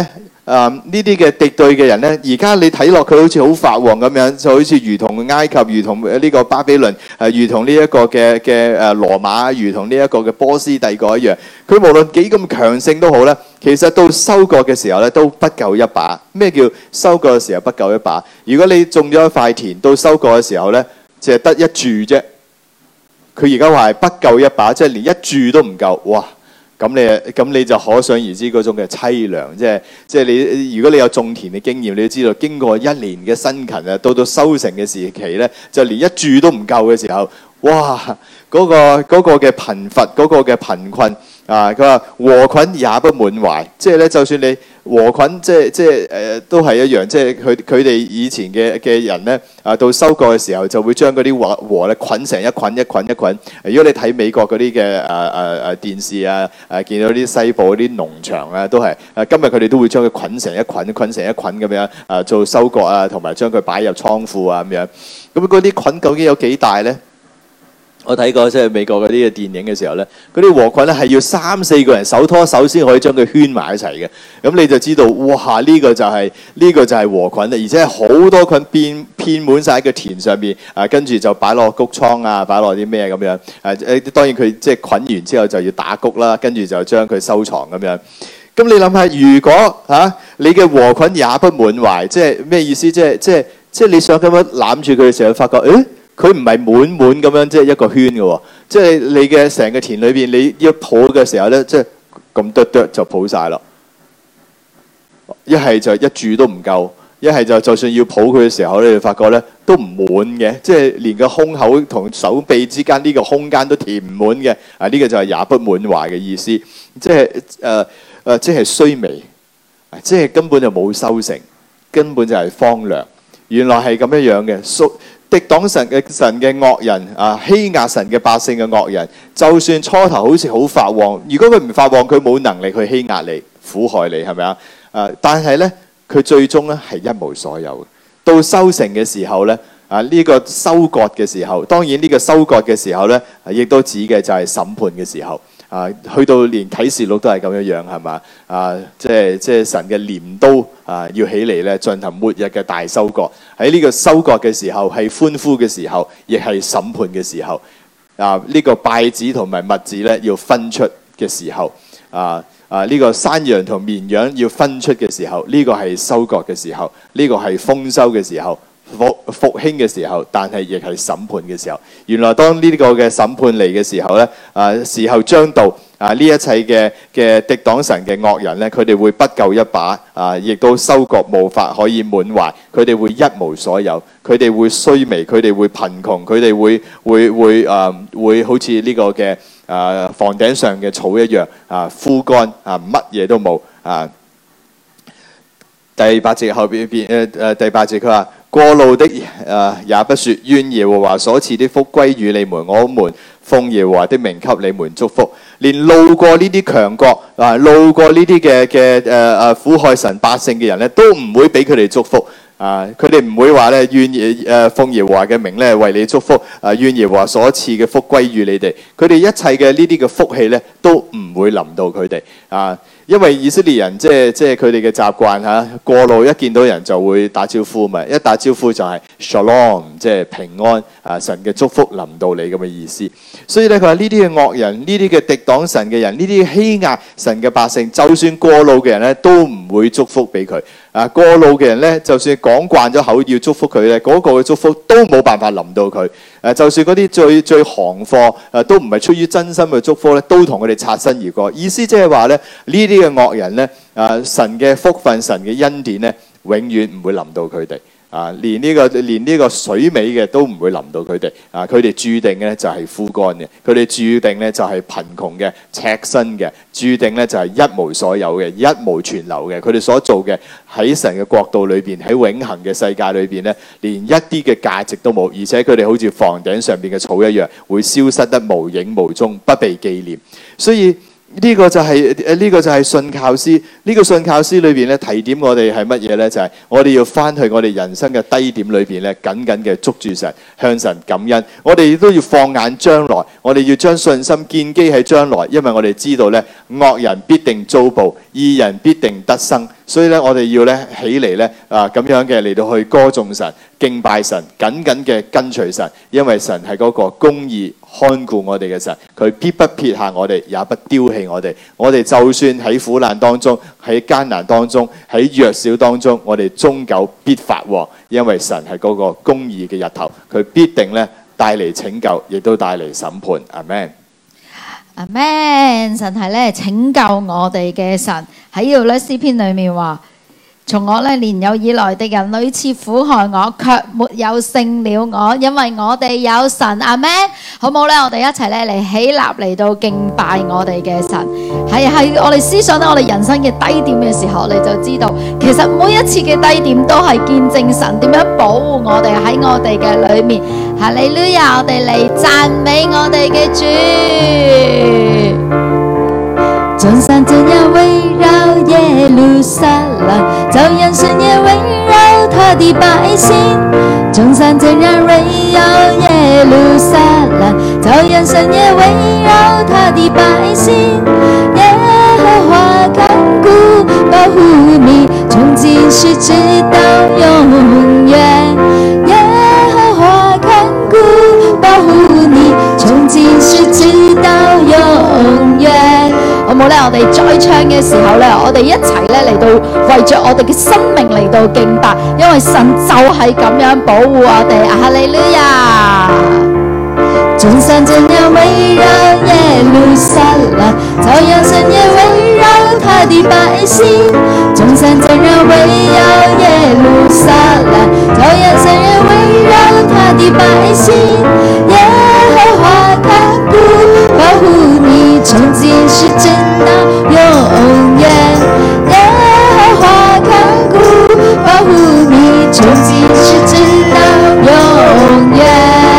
A: 呢啲嘅敵對嘅人咧，而家你睇落佢好似好發旺咁樣，就好似如同埃及、如同呢個巴比倫、誒如同呢一個嘅嘅誒羅馬、如同呢一個嘅波斯帝國一樣。佢無論幾咁強盛都好咧，其實到收割嘅時候咧都不夠一把。咩叫收割嘅時候不夠一把？如果你種咗一塊田，到收割嘅時候咧，淨係得一柱啫。佢而家話係不夠一把，即係連一柱都唔夠。哇！咁你咁你就可想而知嗰種嘅凄涼，即係即係你如果你有種田嘅經驗，你都知道經過一年嘅辛勤啊，到到收成嘅時期咧，就連一柱都唔夠嘅時候，哇！嗰個嗰個嘅貧乏，嗰個嘅貧困啊，佢話禾捆也不滿懷，即係咧，就算你禾捆，即係即係誒，都係一樣，即係佢佢哋以前嘅嘅人咧啊，到收割嘅時候就會將嗰啲禾禾咧捆成一捆一捆一捆。如果你睇美國嗰啲嘅誒誒誒電視啊，誒見到啲西部嗰啲農場啊，都係誒今日佢哋都會將佢捆成一捆，捆成一捆咁樣啊，做收割啊，同埋將佢擺入倉庫啊咁樣。咁嗰啲捆究竟有幾大咧？我睇過即係美國嗰啲嘅電影嘅時候咧，嗰啲禾捆咧係要三四個人手拖手先可以將佢圈埋一齊嘅。咁你就知道，哇！呢個就係呢個就係禾捆啦，而且係好多捆遍遍滿曬喺個田上邊。啊，跟住就擺落谷倉啊，擺落啲咩咁樣。誒誒，當然佢即係捆完之後就要打谷啦，跟住就將佢收藏咁樣。咁你諗下，如果嚇你嘅禾捆也不滿懷，即係咩意思？即係即係即係你想咁樣攬住佢嘅時候，發覺誒？佢唔係滿滿咁樣，即係一個圈嘅喎。即係你嘅成個田裏邊，你一抱嘅時候咧，即係咁哚哚就抱晒咯。一係就一柱都唔夠，一係就就算要抱佢嘅時候咧，你發覺咧都唔滿嘅，即係連個胸口同手臂之間呢個空間都填唔滿嘅。啊，呢個就係也不滿懷嘅意思，即係誒誒，即係衰微，即係根本就冇收成，根本就係荒涼。原來係咁樣樣嘅。屬敵擋神嘅神嘅惡人啊，欺壓神嘅百姓嘅惡人，就算初頭好似好發旺，如果佢唔發旺，佢冇能力去欺壓你、苦害你，係咪啊？誒，但係咧，佢最終咧係一無所有。到收成嘅時候咧，啊呢個收割嘅時候，當然呢個收割嘅時候咧，亦都指嘅就係審判嘅時候。啊，去到連啟示錄都係咁樣樣，係嘛？啊，即係即係神嘅鐮刀啊，要起嚟咧，進行末日嘅大收割。喺呢個收割嘅時候，係歡呼嘅時候，亦係審判嘅時候。啊，呢、這個稗子同埋麥子咧，要分出嘅時候。啊啊，呢、這個山羊同綿羊要分出嘅時候，呢、這個係收割嘅時候，呢、這個係豐收嘅時候。復復興嘅時候，但係亦係審判嘅時候。原來當呢個嘅審判嚟嘅時候咧，啊時候將到啊！呢一切嘅嘅敵擋神嘅惡人咧，佢哋會不夠一把啊，亦都收割無法可以滿懷。佢哋會一無所有，佢哋會衰微，佢哋會貧窮，佢哋會會會啊會好似呢個嘅啊房頂上嘅草一樣啊枯乾啊，乜嘢都冇啊。第八節後邊邊誒誒第八節佢話。過路的誒、呃、也不說，願耶和華所賜的福歸於你們，我們奉耶和華的名給你們祝福。連路過呢啲強國啊，路過呢啲嘅嘅誒誒苦害神百姓嘅人咧，都唔會俾佢哋祝福啊！佢哋唔會話咧，願耶誒奉耶和華嘅名咧為你祝福啊，願耶和華所賜嘅福歸於你哋。佢哋一切嘅呢啲嘅福氣咧，都唔會臨到佢哋啊！因為以色列人即係即係佢哋嘅習慣嚇，過路一見到人就會打招呼嘛，一打招呼就係 Shalom， 即係平安啊！神嘅祝福臨到你咁嘅意思。所以咧，佢話呢啲嘅惡人，呢啲嘅敵擋神嘅人，呢啲欺壓神嘅百姓，就算過路嘅人咧，都唔會祝福俾佢。啊，過路嘅人咧，就算講慣咗口要祝福佢咧，嗰、那個嘅祝福都冇辦法臨到佢。誒，就算嗰啲最最行貨，誒都唔係出於真心嘅祝福咧，都同佢哋擦身而過。意思即係話咧，呢啲嘅惡人咧，誒神嘅福分、神嘅恩典咧，永遠唔會臨到佢哋。啊，連呢、這個連呢個水尾嘅都唔會臨到佢哋。啊，佢哋注定咧就係枯乾嘅，佢哋注定咧就係貧窮嘅、赤身嘅，注定咧就係一無所有嘅、一無存留嘅。佢哋所做嘅喺神嘅國度裏邊，喺永恆嘅世界裏邊咧，連一啲嘅價值都冇，而且佢哋好似房頂上邊嘅草一樣，會消失得無影無蹤，不被紀念。所以呢個就係誒呢個就係信靠詩。呢、這個信靠詩裏邊咧提點我哋係乜嘢咧？就係、是、我哋要翻去我哋人生嘅低點裏邊咧，緊緊嘅捉住神，向神感恩。我哋亦都要放眼將來，我哋要將信心建基喺將來，因為我哋知道咧惡人必定遭報，義人必定得生。所以咧，我哋要咧起嚟咧啊咁樣嘅嚟到去歌頌神、敬拜神、緊緊嘅跟隨神，因為神係嗰個公義看顧我哋嘅神，佢必不撇下我哋，也不丟棄我哋。我哋就算喺苦難當中、喺艱難當中、喺弱小當中，我哋終究必發旺，因為神係嗰個公義嘅日頭，佢必定咧帶嚟拯救，亦都帶嚟審判。阿們。
B: 阿們，神係咧拯救我哋嘅神，喺呢度咧詩篇裏面話：從我咧年幼以來的人屢次苦害我，卻沒有勝了我，因為我哋有神。阿們，好唔好咧？我哋一齊咧嚟起立嚟到敬拜我哋嘅神。係係我哋思想到我哋人生嘅低點嘅時候，你就知道其實每一次嘅低點都係見證神點樣保護我哋喺我哋嘅裏面。哈利路亞！我哋嚟讚美我哋嘅主。眾山怎樣圍繞耶路撒冷，照樣神也圍繞他的百姓。眾山怎樣圍繞耶路撒冷，照樣神也圍繞他的百姓。耶和華看顧保護你，從今時直到永遠。耶和華看顧保護你，從今時直到永遠。好冇咧？我哋再唱嘅時候咧，我哋一齊咧嚟到為着我哋嘅生命嚟到敬拜，因為神就係咁樣保護我哋。哈利路亞！眾山怎樣圍繞耶路撒冷，照樣神也圍繞他的百姓。眾山怎樣圍繞耶路撒冷，照樣神也圍繞他的百姓。耶和華看顧保護你，從今時直到永遠。耶和華看顧保護你，從今時直到永遠。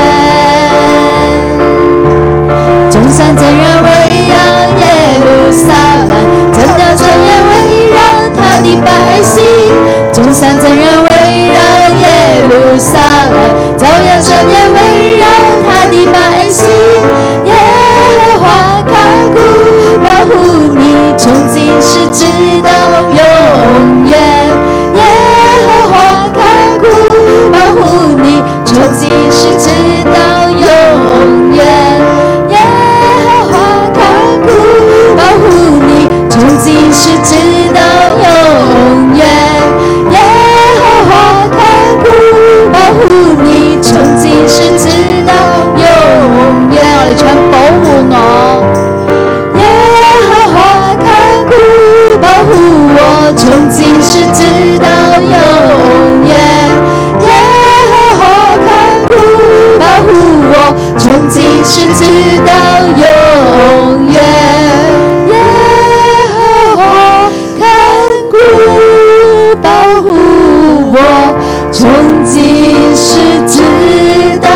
B: 眾山怎樣圍繞耶路撒冷，怎樣怎樣圍繞他的百姓。眾山怎樣圍繞耶路撒冷，照樣神也圍繞他的百姓。耶和華看顧保護你，從今時直到永遠。耶和華看顧保護你，從今時直到永遠。耶和華看顧保護你，從今時直到永遠。耶和華看顧保護你，從今時直到永遠。我哋唱保護我。耶和華看顧保護我，從今時直到永遠。耶和華看顧保護我，從今時直到永遠。耶和華看顧保護我，從今時直到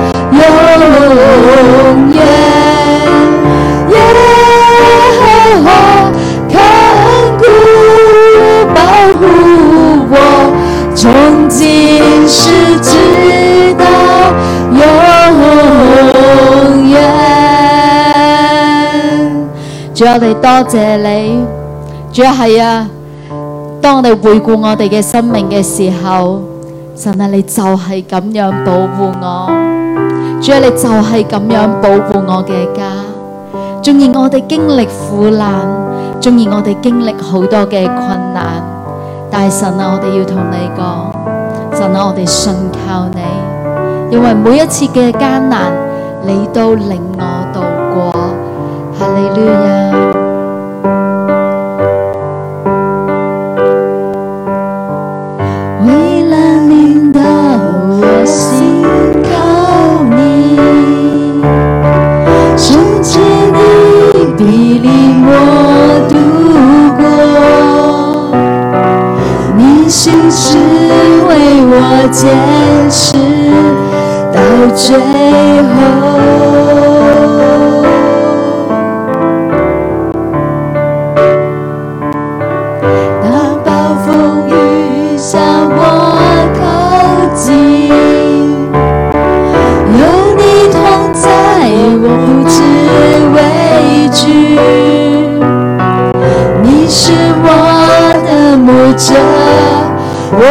B: 永遠。耶和華看顧保護我，從今時直到永遠。主，我哋多謝你。主啊，係啊，當我哋回顧我哋嘅生命嘅時候，神啊，你就係咁樣保護我。主啊，你就係咁樣保護我嘅家。縱然我哋經歷苦難，縱然我哋經歷好多嘅困難，但係神啊，我哋要同你講，神啊，我哋信靠你，因為每一次嘅艱難，你都領我度過。哈利路亞。為了領導我心靠你，聖潔的庇領我度過，你心是為我堅持到最後。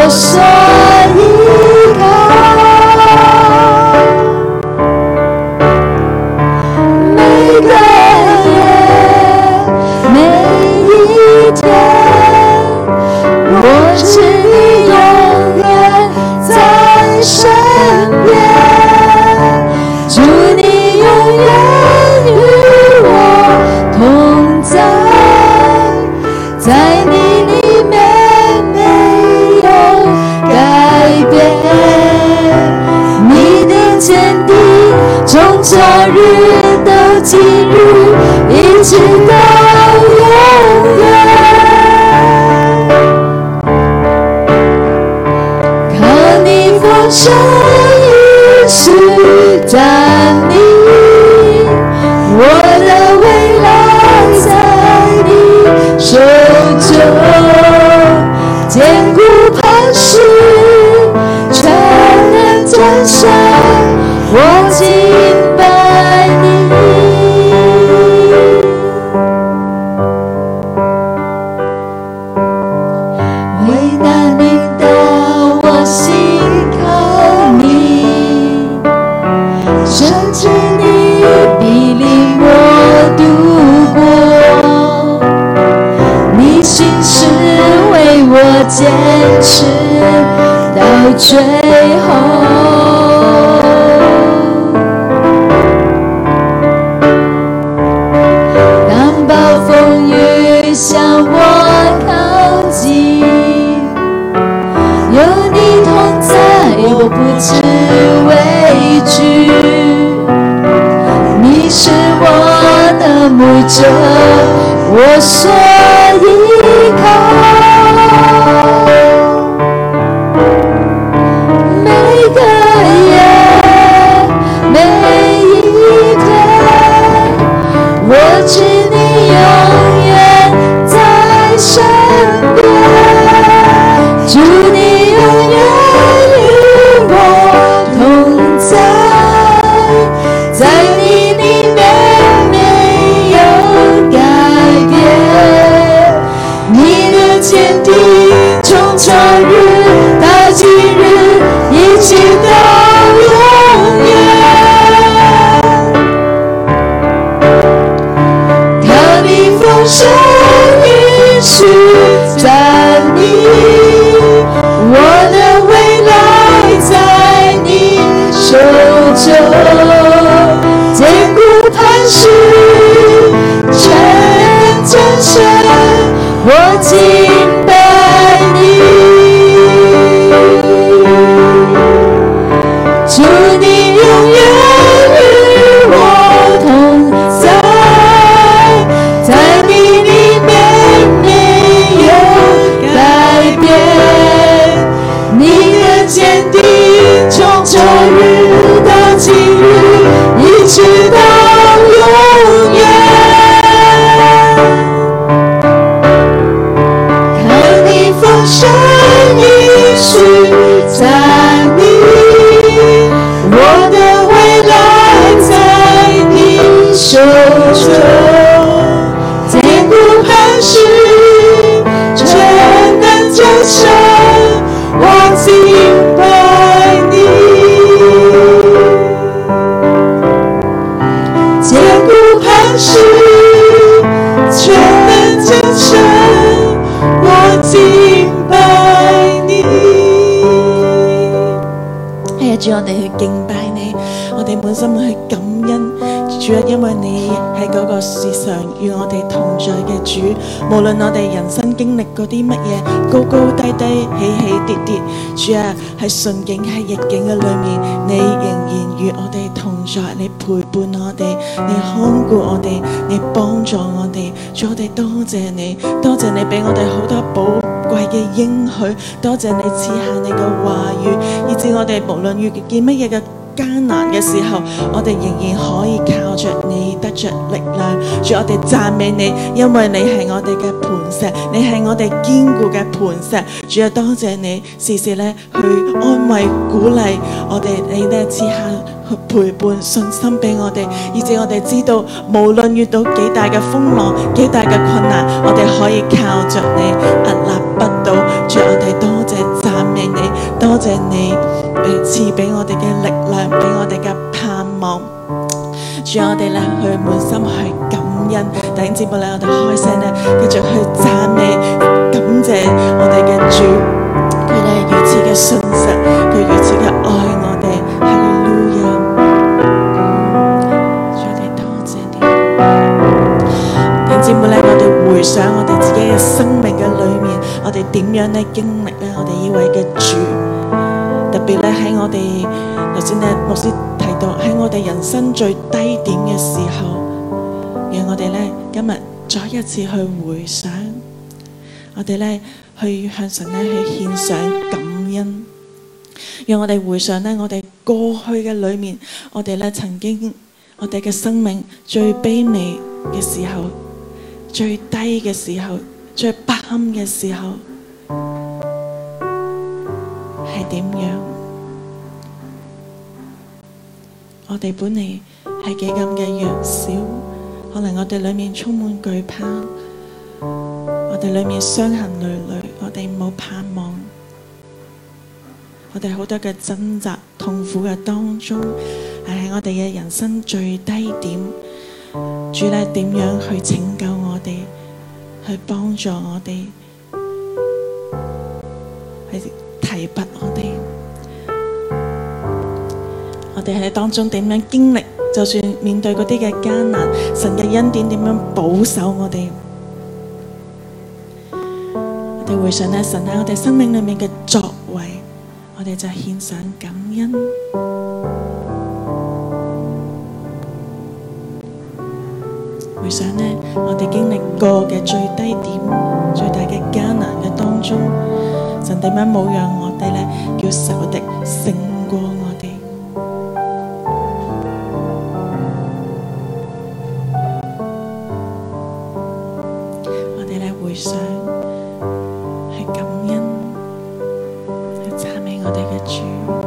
B: 我所依靠。每个夜，每一天，我知你永远在身边，主你永远与我同在，在你里面没有改变，你的坚定从昨日到今日，一直到永远。靠你丰盛应许站立，我的未来在你手中，坚固磐石，全能战胜，我敬拜你。为难领导我心靠你，甚至你必领我度过，你心事为我坚持到最后。当暴风雨向我靠近，有你同在，我不知畏惧。你是我的牧者，我所依靠。每个夜，每一天，我知你永远在身边，主你永远与我同在，在你里面没有改变，你的坚定从昨日到今日，一直到永远。靠你丰盛应许站立，我的未来在你手中，坚固磐石，全能战胜，我敬拜你。主你永远与我同在，在你里面没有改变，你的坚定从昨日到今日，一直到永远。靠你丰盛应许站立，我的未来在你手中，坚固磐石，全能战胜，我敬拜你。坚固磐石，全能战胜，我敬拜你。哎呀，主，我哋去敬拜你，我哋滿心去感恩。主啊，因為你係嗰個時常與我哋同在嘅主，無論我哋人生經歷嗰啲乜嘢高高低低、起起跌跌，主啊，喺順境喺逆境嘅裏面，你仍然與我哋同在，你陪伴我哋，你看顧我哋，你幫助我哋。主，我哋多謝你，多謝你俾我哋好多寶貴嘅應許，多謝你賜下你嘅話語，以致我哋無論遇見乜嘢嘅艱難嘅時候，我哋仍然可以靠着你得着力量。主，我哋讚美你，因為你係我哋嘅磐石，你係我哋堅固嘅磐石。主啊，多謝你時時咧去安慰鼓勵我哋，你咧賜下去陪伴信心俾我哋，以致我哋知道無論遇到幾大嘅風浪、幾大嘅困難，我哋可以靠着你屹立不倒。主，我哋多謝讚美
C: 多謝你誒賜俾我哋嘅力量，俾我哋嘅盼望。主啊，我哋咧去滿心去感恩，弟兄姊妹咧，我哋開聲咧，繼續去讚美、感謝我哋嘅主，佢咧如此嘅信實，佢如此嘅愛我哋，哈利路亞！主，我哋多謝你。弟兄姊妹咧，我哋回想我哋自己嘅生命嘅裏面，我哋點樣咧經歷咧我哋呢位嘅主，特別咧喺我哋頭先咧牧師提到喺我哋人生最低點嘅時候，讓我哋咧今日再一次去回想，我哋咧去向神咧去獻上感恩，讓我哋回想咧我哋過去嘅裏面，我哋咧曾經我哋嘅生命最卑微嘅時候，最低嘅時候，最不堪嘅時候係點樣？我哋本嚟係幾咁嘅弱小，可能我哋裏面充滿懼怕，我哋裏面傷痕累累，我哋冇盼望，我哋好多嘅掙扎痛苦嘅當中，係喺我哋嘅人生最低點。主咧點樣去拯救我哋，去幫助我哋，去提拔我哋。我哋喺當中點樣經歷，就算面對嗰啲嘅艱難，神嘅恩典點樣保守我哋。我哋回想咧神喺我哋生命裏面嘅作為，我哋就獻上感恩。回想呢，我哋經歷過嘅最低點、最大嘅艱難嘅當中，神點樣冇讓我哋咧叫仇敵勝過我哋？我哋咧回想去感恩，去讚美我哋嘅主。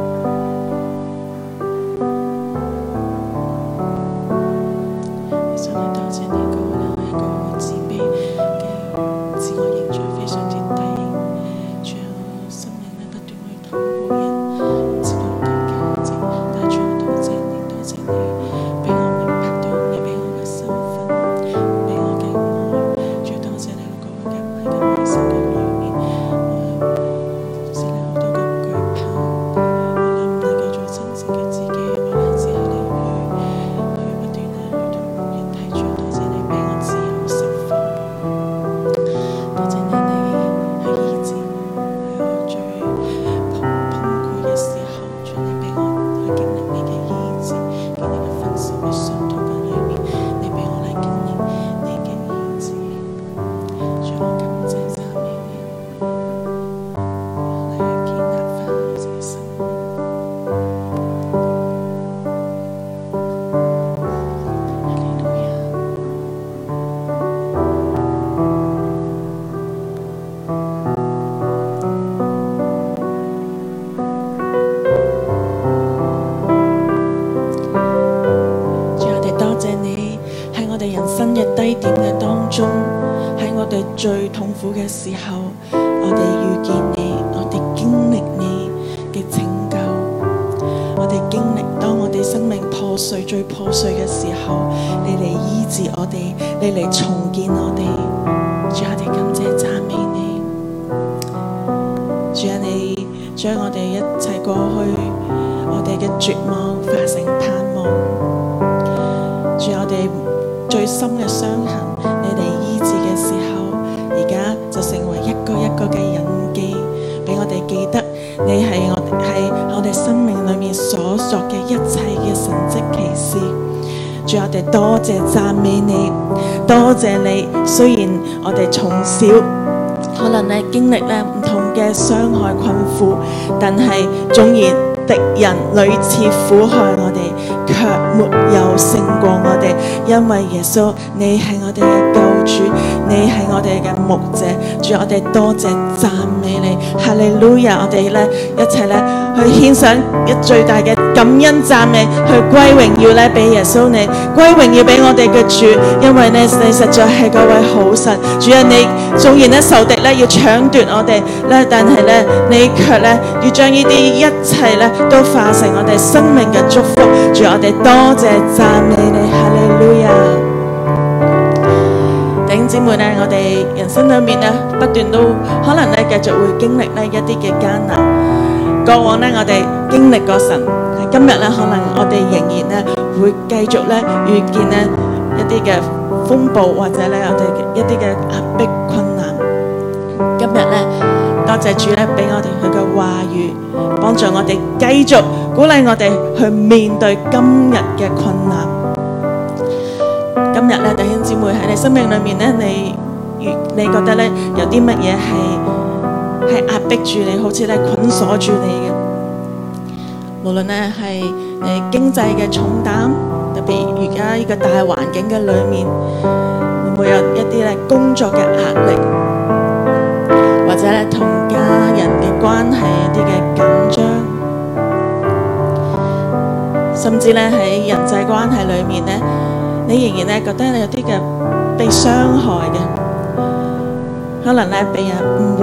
C: 最痛苦嘅時候，我哋遇見你，我哋經歷你嘅拯救，我哋經歷當我哋生命破碎最破碎嘅時候，你嚟醫治我哋，你嚟重建我哋。主啊，我哋感謝讚美你。主啊，你將我哋一切過去我哋嘅絕望化成盼望。主啊，我哋最深嘅傷痕，你嚟醫治嘅時候，而家就成為一個一個嘅印記，俾我哋記得你係我係我哋生命裏面所作嘅一切嘅神蹟奇事。主，我哋多謝讚美你，多謝你。雖然我哋從小可能咧經歷咧唔同嘅傷害困苦，但係縱然敵人屢次苦害我哋，卻沒有勝過我哋，因為耶穌你係我哋嘅救主，你係我哋嘅牧者。主，我哋多謝讚美你，哈利路亞！我哋咧一齊咧去獻上一最大嘅感恩讚美，去歸榮耀咧俾耶穌你，歸榮耀俾我哋嘅主，因為咧你實在係嗰位好神。主啊，你縱然咧仇敵咧要搶奪我哋咧，但係咧你卻咧要將呢啲一切咧都化成我哋生命嘅祝福。主，我哋多謝讚美你，哈利路亞。弟兄姊妹咧，我哋人生裏面咧不斷都可能咧繼續會經歷呢一啲嘅艱難。過往咧我哋經歷過神，今日咧可能我哋仍然咧會繼續咧遇見咧一啲嘅風暴，或者咧我哋一啲嘅壓迫困難。今日咧多謝主咧俾我哋佢嘅話語，幫助我哋繼續鼓勵我哋去面對今日嘅困難。今日咧弟兄姊妹喺你生命裏面咧，你你覺得咧有啲乜嘢係係壓迫住你，好似咧捆鎖住你嘅？無論咧係你經濟嘅重擔，特別而家呢個大環境嘅裏面，會唔會有一啲咧工作嘅壓力，或者咧同家人嘅關係一啲嘅緊張，甚至咧喺人際關係裏面咧，你仍然咧覺得你有啲嘅被傷害嘅，可能咧被人誤會、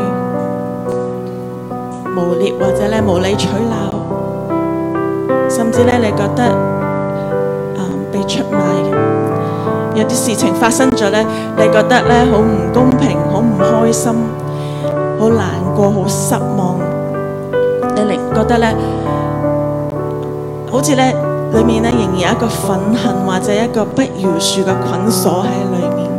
C: 誣衊，或者咧無理取鬧，甚至咧你覺得、嗯、被出賣嘅，有啲事情發生咗咧，你覺得咧好唔公平、好唔開心、好難過、好失望，你嚟覺得咧好似咧裏面咧仍然有一個憤恨或者一個不饒恕嘅捆鎖喺裏面。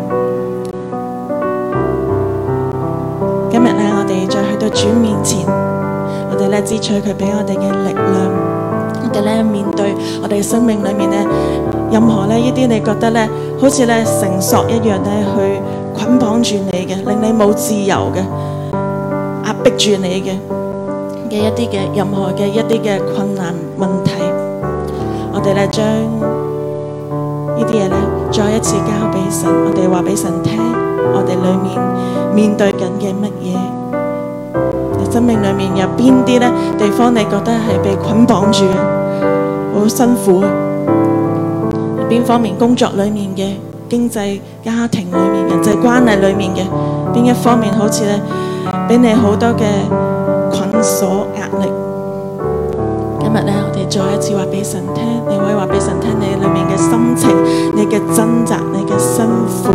C: 今日咧我哋再去到主面前，我哋咧支取佢俾我哋嘅力量，我哋咧面對我哋嘅生命裏面咧任何咧呢啲你覺得咧好似咧繩索一樣咧去捆綁住你嘅，令你冇自由嘅，壓迫住你嘅嘅一啲嘅任何嘅一啲嘅困難問題，我哋咧將呢啲嘢咧再一次交俾神，我哋話俾神聽，我哋裏面面對緊嘅乜嘢，你生命裏面有邊啲咧地方你覺得係被捆綁住嘅，好辛苦嘅，邊方面工作裏面嘅、經濟、家庭裏面、人際關係裏面嘅邊一方面好似咧俾你好多嘅捆鎖壓力。今日咧，我哋再一次話俾神聽，你可以話俾神聽你裏面嘅心情、你嘅掙扎、你嘅辛苦。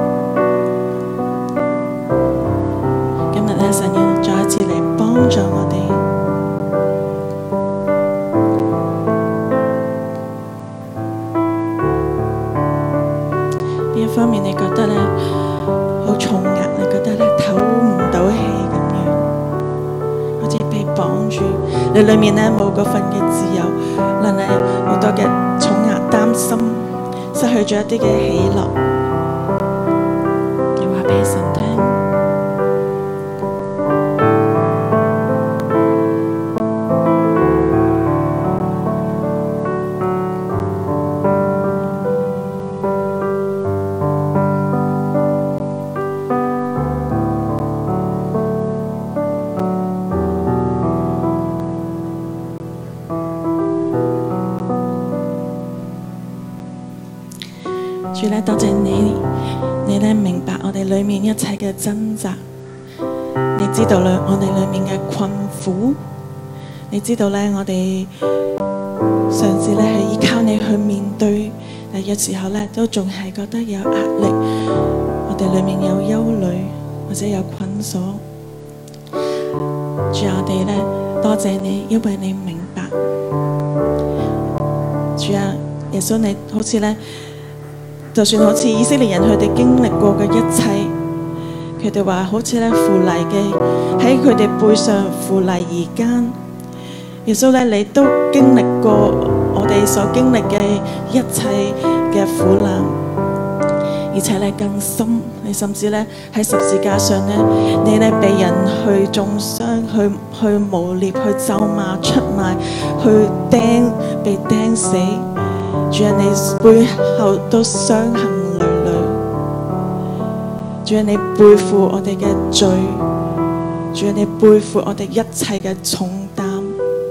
C: 今日咧，神要再一次嚟幫助我哋。邊一方面你覺得咧好重壓，你覺得咧唞唔到氣咁樣，好似被綁住，你裏面咧冇嗰份嘅自由，令你好多嘅重壓、擔心，失去咗一啲嘅喜樂，你話俾神聽。主咧，多謝你，你咧明白我哋裏面一切嘅掙扎，你知道咧我哋裏面嘅困苦，你知道咧我哋嘗試咧係依靠你去面對，但有時候咧都仲係覺得有壓力，我哋裏面有憂慮或者有捆鎖。主啊，我哋咧多謝你，因為你明白。主啊，耶穌你好似咧。就算好似以色列人佢哋經歷過嘅一切，佢哋話好似咧扶犁嘅喺佢哋背上扶犁而耕。耶穌咧，你都經歷過我哋所經歷嘅一切嘅苦難，而且咧更深。你甚至咧喺十字架上咧，你咧被人去中傷、去去誣衊、去咒罵、出賣、去釘、被釘死。主啊，你背後都傷痕累累，主啊，你背負我哋嘅罪，主啊，你背負我哋一切嘅重擔，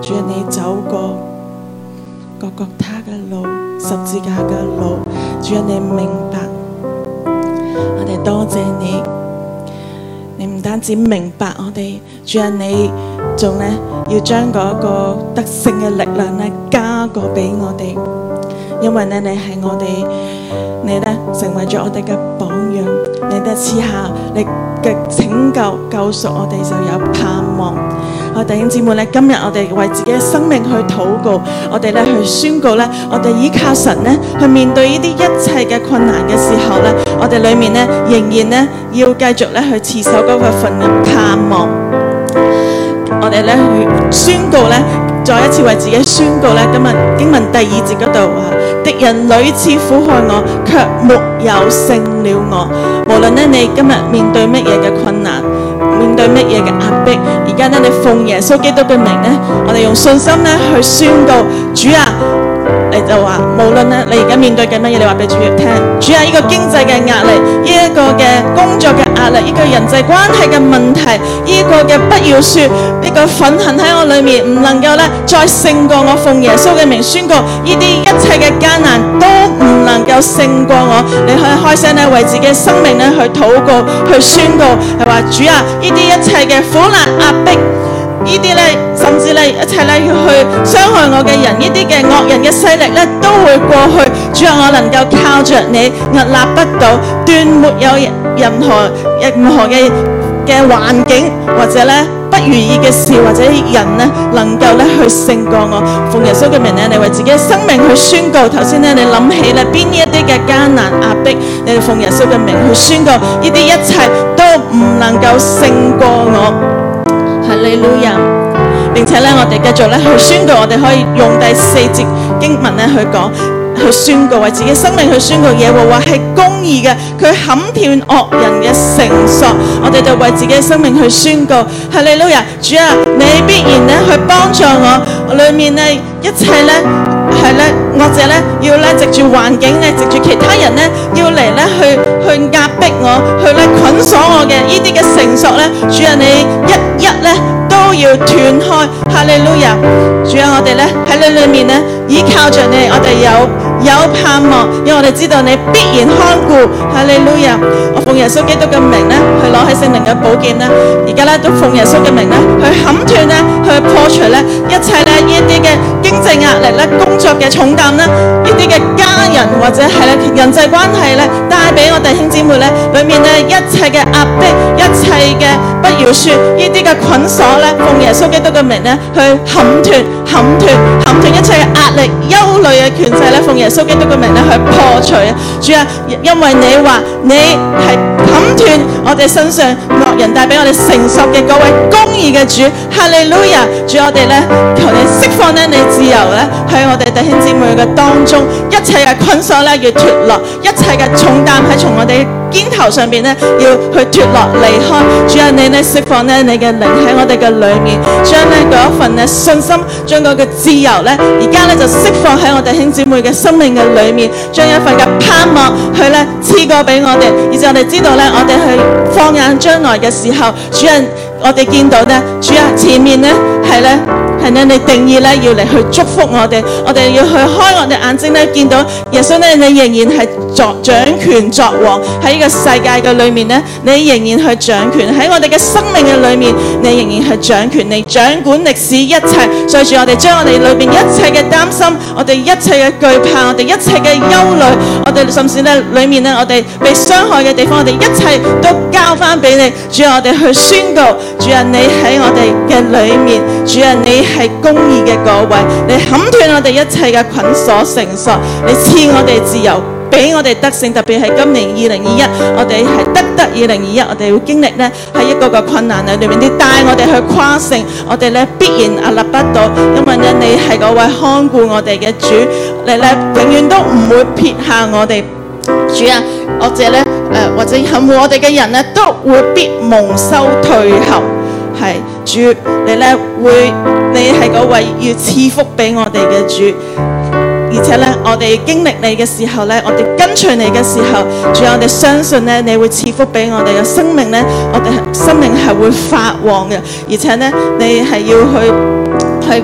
C: 主啊，你走過各各他嘅路，十字架嘅路，主啊，你明白，我哋多謝你。你唔單止明白我哋，主啊，你仲咧要將嗰個得勝嘅力量咧加過俾我哋，因為咧你係我哋，你咧成為咗我哋嘅榜樣，你咧賜下你嘅拯救救贖，我哋就有盼望。我弟兄姊妹咧，今日我哋為自己嘅生命去禱告，我哋咧去宣告咧，我哋依靠神咧去面對呢啲一切嘅困難嘅時候咧，我哋裏面咧仍然咧要繼續咧去持守嗰個份嘅盼望。我哋咧去宣告咧，再一次為自己宣告咧，今日經文第二節嗰度話：敵人屢次苦害我，卻沒有勝了我。無論咧你今日面對乜嘢嘅困難，面對乜嘢嘅壓迫，而家咧你奉耶穌基督嘅名咧，我哋用信心咧去宣告，主啊！你就話，無論咧你而家面對緊乜嘢，你話俾主聽，主啊，呢個經濟嘅壓力，呢一個嘅工作嘅壓力，呢個人際關係嘅問題，呢個嘅不要說，呢個憤恨喺我裏面唔能夠咧再勝過我，奉耶穌嘅名宣告，呢啲一切嘅艱難都唔能夠勝過我。你可以開聲咧為自己生命咧去禱告，去宣告，係話主啊，呢啲一切嘅苦難壓迫。呢啲咧，甚至咧一切咧要去傷害我嘅人，呢啲嘅惡人嘅勢力咧都會過去。主啊，我能夠靠着你屹立不倒，斷沒有任何任何嘅嘅環境或者咧不如意嘅事或者人咧能夠咧去勝過我。奉耶穌嘅名咧，你為自己嘅生命去宣告。頭先咧你諗起咧邊一啲嘅艱難壓迫，你哋奉耶穌嘅名去宣告，呢啲一切都唔能夠勝過我。哈利路亞！並且咧，我哋繼續咧去宣告，我哋可以用第四節經文咧去講，去宣告為自己生命去宣告，耶和華係公義嘅，佢砍斷惡人嘅繩索。我哋就為自己嘅生命去宣告，哈利路亞！主啊，你必然咧去幫助我，裏面咧一切咧係咧惡者咧要咧藉住環境咧，藉住其他人咧要嚟咧去去壓迫我，去咧捆鎖我嘅呢啲嘅繩索咧，主啊，你一一咧都要斷開。哈利路亞！主啊，我哋咧喺你裏面咧依靠着你，我哋有有盼望，因為我哋知道你必然看顧。哈利路亞！我奉耶穌基督嘅名咧，去攞起聖靈嘅寶劍咧，而家咧都奉耶穌嘅名咧，去砍斷咧，去破除咧一切咧呢一啲嘅經濟壓力咧、工作嘅重擔咧、呢啲嘅家人或者係咧人際關係咧帶俾我弟兄姊妹咧，裏面咧一切嘅壓迫、一切嘅不饒恕、呢啲嘅捆鎖咧，奉耶穌基督嘅名咧，去砍斷、砍斷、砍斷一切嘅壓力、憂慮嘅權勢咧，奉耶穌基督嘅名咧去破除。主啊，因為你話你係砍斷我哋身上惡人帶俾我哋承受嘅嗰位公義嘅主。哈利路亞！主，我哋咧求你釋放咧你自由咧喺我哋弟兄姊妹嘅當中，一切嘅捆鎖咧要脫落，一切嘅重擔喺從我哋肩頭上邊咧要去脫落離開。主啊，你咧釋放咧你嘅靈喺我哋嘅裏面，將咧嗰一份咧信心，將嗰個自由咧，而家咧就釋放喺我哋弟兄姊妹嘅生命嘅裏面，將一份嘅盼望去咧賜過俾我哋，以至我哋知道咧，我哋去放眼將來嘅時候，主啊，我哋見到咧，主啊，前面咧係咧。係咧，你定義咧要嚟去祝福我哋，我哋要去開我哋眼睛咧，見到耶穌咧，你仍然係作掌權作王喺呢個世界嘅裏面咧，你仍然去掌權喺我哋嘅生命嘅裏面，你仍然係掌權，你掌管歷史一切。所以住我哋將我哋裏邊一切嘅擔心，我哋一切嘅懼怕，我哋一切嘅憂慮，我哋甚至咧裏面咧我哋被傷害嘅地方，我哋一切都交翻俾你。主啊，我哋去宣告，主啊，你喺我哋嘅裏面，主啊，你係公義嘅嗰位，你砍斷我哋一切嘅捆鎖繩索，你賜我哋自由，俾我哋得勝。特別係今年二零二一，我哋係得得二零二一，我哋會經歷呢喺一個個困難裏面，你帶我哋去跨勝，我哋咧必然屹立不倒，因為咧你係嗰位看顧我哋嘅主，你咧永遠都唔會撇下我哋。主啊，我哋咧誒或者恨惡我哋嘅人咧，都會必蒙羞退後。係主，你咧會，你係嗰位要賜福俾我哋嘅主，而且咧我哋經歷你嘅時候咧，我哋跟隨你嘅時候，主，我哋相信咧你會賜福俾我哋嘅生命咧，我哋生命係會發旺嘅，而且咧你係要去去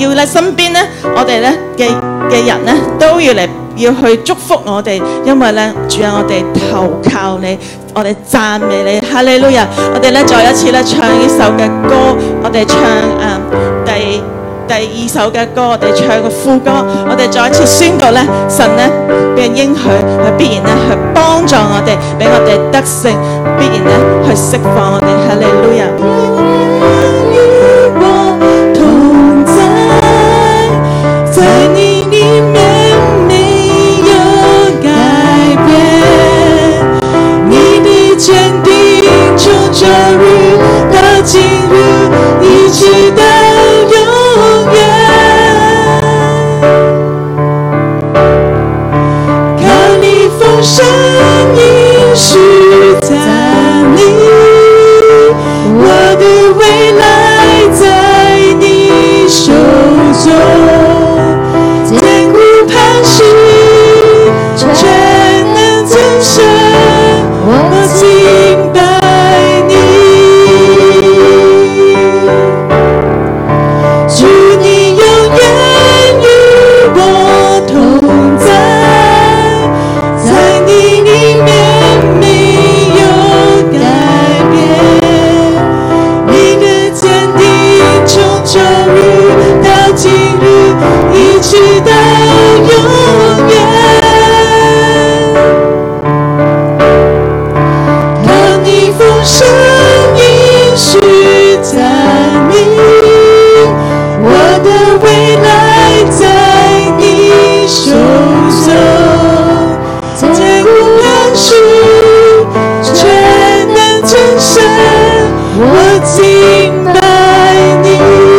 C: 要咧身邊咧我哋咧嘅嘅人咧都要嚟要去祝福我哋，因為咧主啊，我哋投靠你，我哋讚美你，哈利路亞！我哋咧再一次咧唱呢首嘅歌，我哋唱誒、呃、第。第二首嘅歌，我哋唱個副歌，我哋再一次宣告咧，神咧嘅應許係必然咧去幫助我哋，俾我哋得勝，必然咧去釋放我哋，哈利路亞。與我同在，在你裡面沒有改變，你的堅定從舊日到今日，一直到永遠。靠你豐盛應許在你，我的未來在你手中，艱苦磐石全能增生，我敬拜你。主你永遠與我同在，在你裡面沒有改變，你的堅定從舊日到今日，一直到永遠。靠你豐盛應許在你，我的未來在你手中，艱苦磐石全能增生，我敬拜你。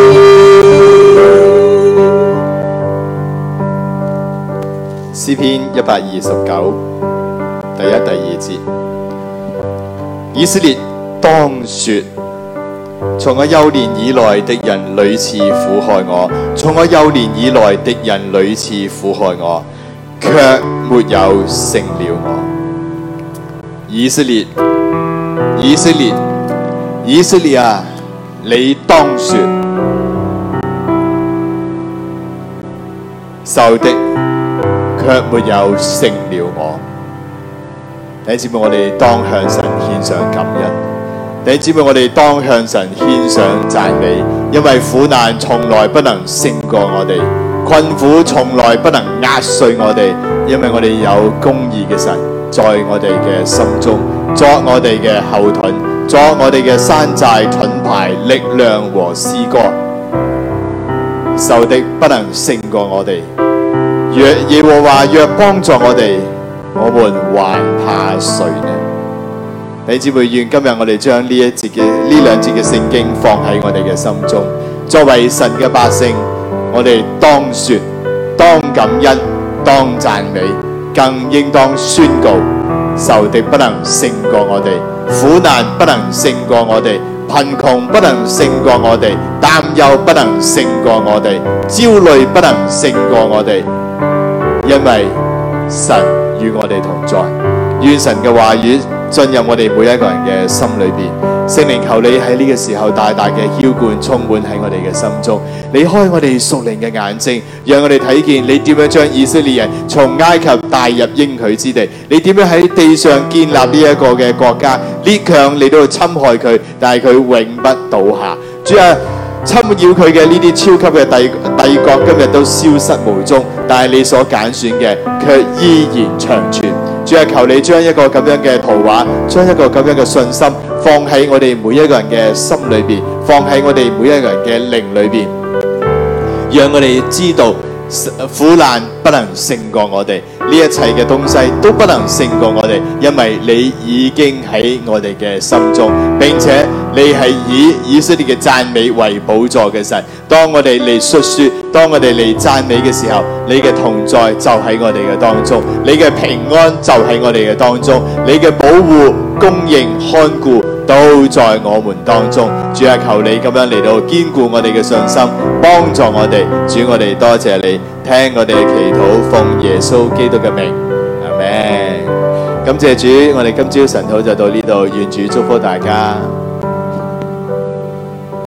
A: 詩篇一百二十九第一、第二節，以色列當說：從我幼年以來，敵人屢次苦害我；從我幼年以來，敵人屢次苦害我，卻沒有勝了我。以色列，以色列，以色列啊，你當說，仇敵卻沒有勝了我。弟兄姊妹，我哋當向神獻上感恩。弟兄姊妹，我哋當向神獻上讚美，因為苦難從來不能勝過我哋，困苦從來不能壓碎我哋，因為我哋有公義嘅神在我哋嘅心中，作我哋嘅後盾，作我哋嘅山寨盾牌，力量和詩歌。仇敵不能勝過我哋，若耶和華若幫助我哋，我們還怕誰呢？弟兄姊妹，願今日我哋將呢一節嘅呢兩節嘅聖經放喺我哋嘅心中，作為神嘅百姓，我哋當說、當感恩、當讚美，更應當宣告：仇敵不能勝過我哋，苦難不能勝過我哋，貧窮不能勝過我哋，擔憂不能勝過我哋，焦慮不能勝過我哋，因為神與我哋同在。願神嘅話語進入我哋每一個人嘅心裏邊，聖靈求你喺呢個時候大大嘅澆灌充滿喺我哋嘅心中，你開我哋屬靈嘅眼睛，讓我哋睇見你點樣將以色列人從埃及帶入應許之地，你點樣喺地上建立呢一個嘅國家，列強嚟到侵害佢，但係佢永不倒下。主啊，侵擾佢嘅呢啲超級嘅帝帝國今日都消失無蹤，但係你所揀選嘅卻依然長存。主啊，求你將一個咁樣嘅圖畫，將一個咁樣嘅信心放喺我哋每一個人嘅心裏邊，放喺我哋每一個人嘅靈裏邊，讓我哋知道苦難不能勝過我哋，呢一切嘅東西都不能勝過我哋，因為你已經喺我哋嘅心中，並且你係以以色列嘅讚美為寶座嘅神。當我哋嚟述說，當我哋嚟讚美嘅時候，你嘅同在就喺我哋嘅當中，你嘅平安就喺我哋嘅當中，你嘅保護、供應、看顧都在我們當中。主啊，求你咁樣嚟到堅固我哋嘅信心，幫助我哋。主，我哋多謝你，聽我哋嘅祈禱，奉耶穌基督嘅名，阿們。感謝主，我哋今朝晨禱就到呢度，願主祝福大家。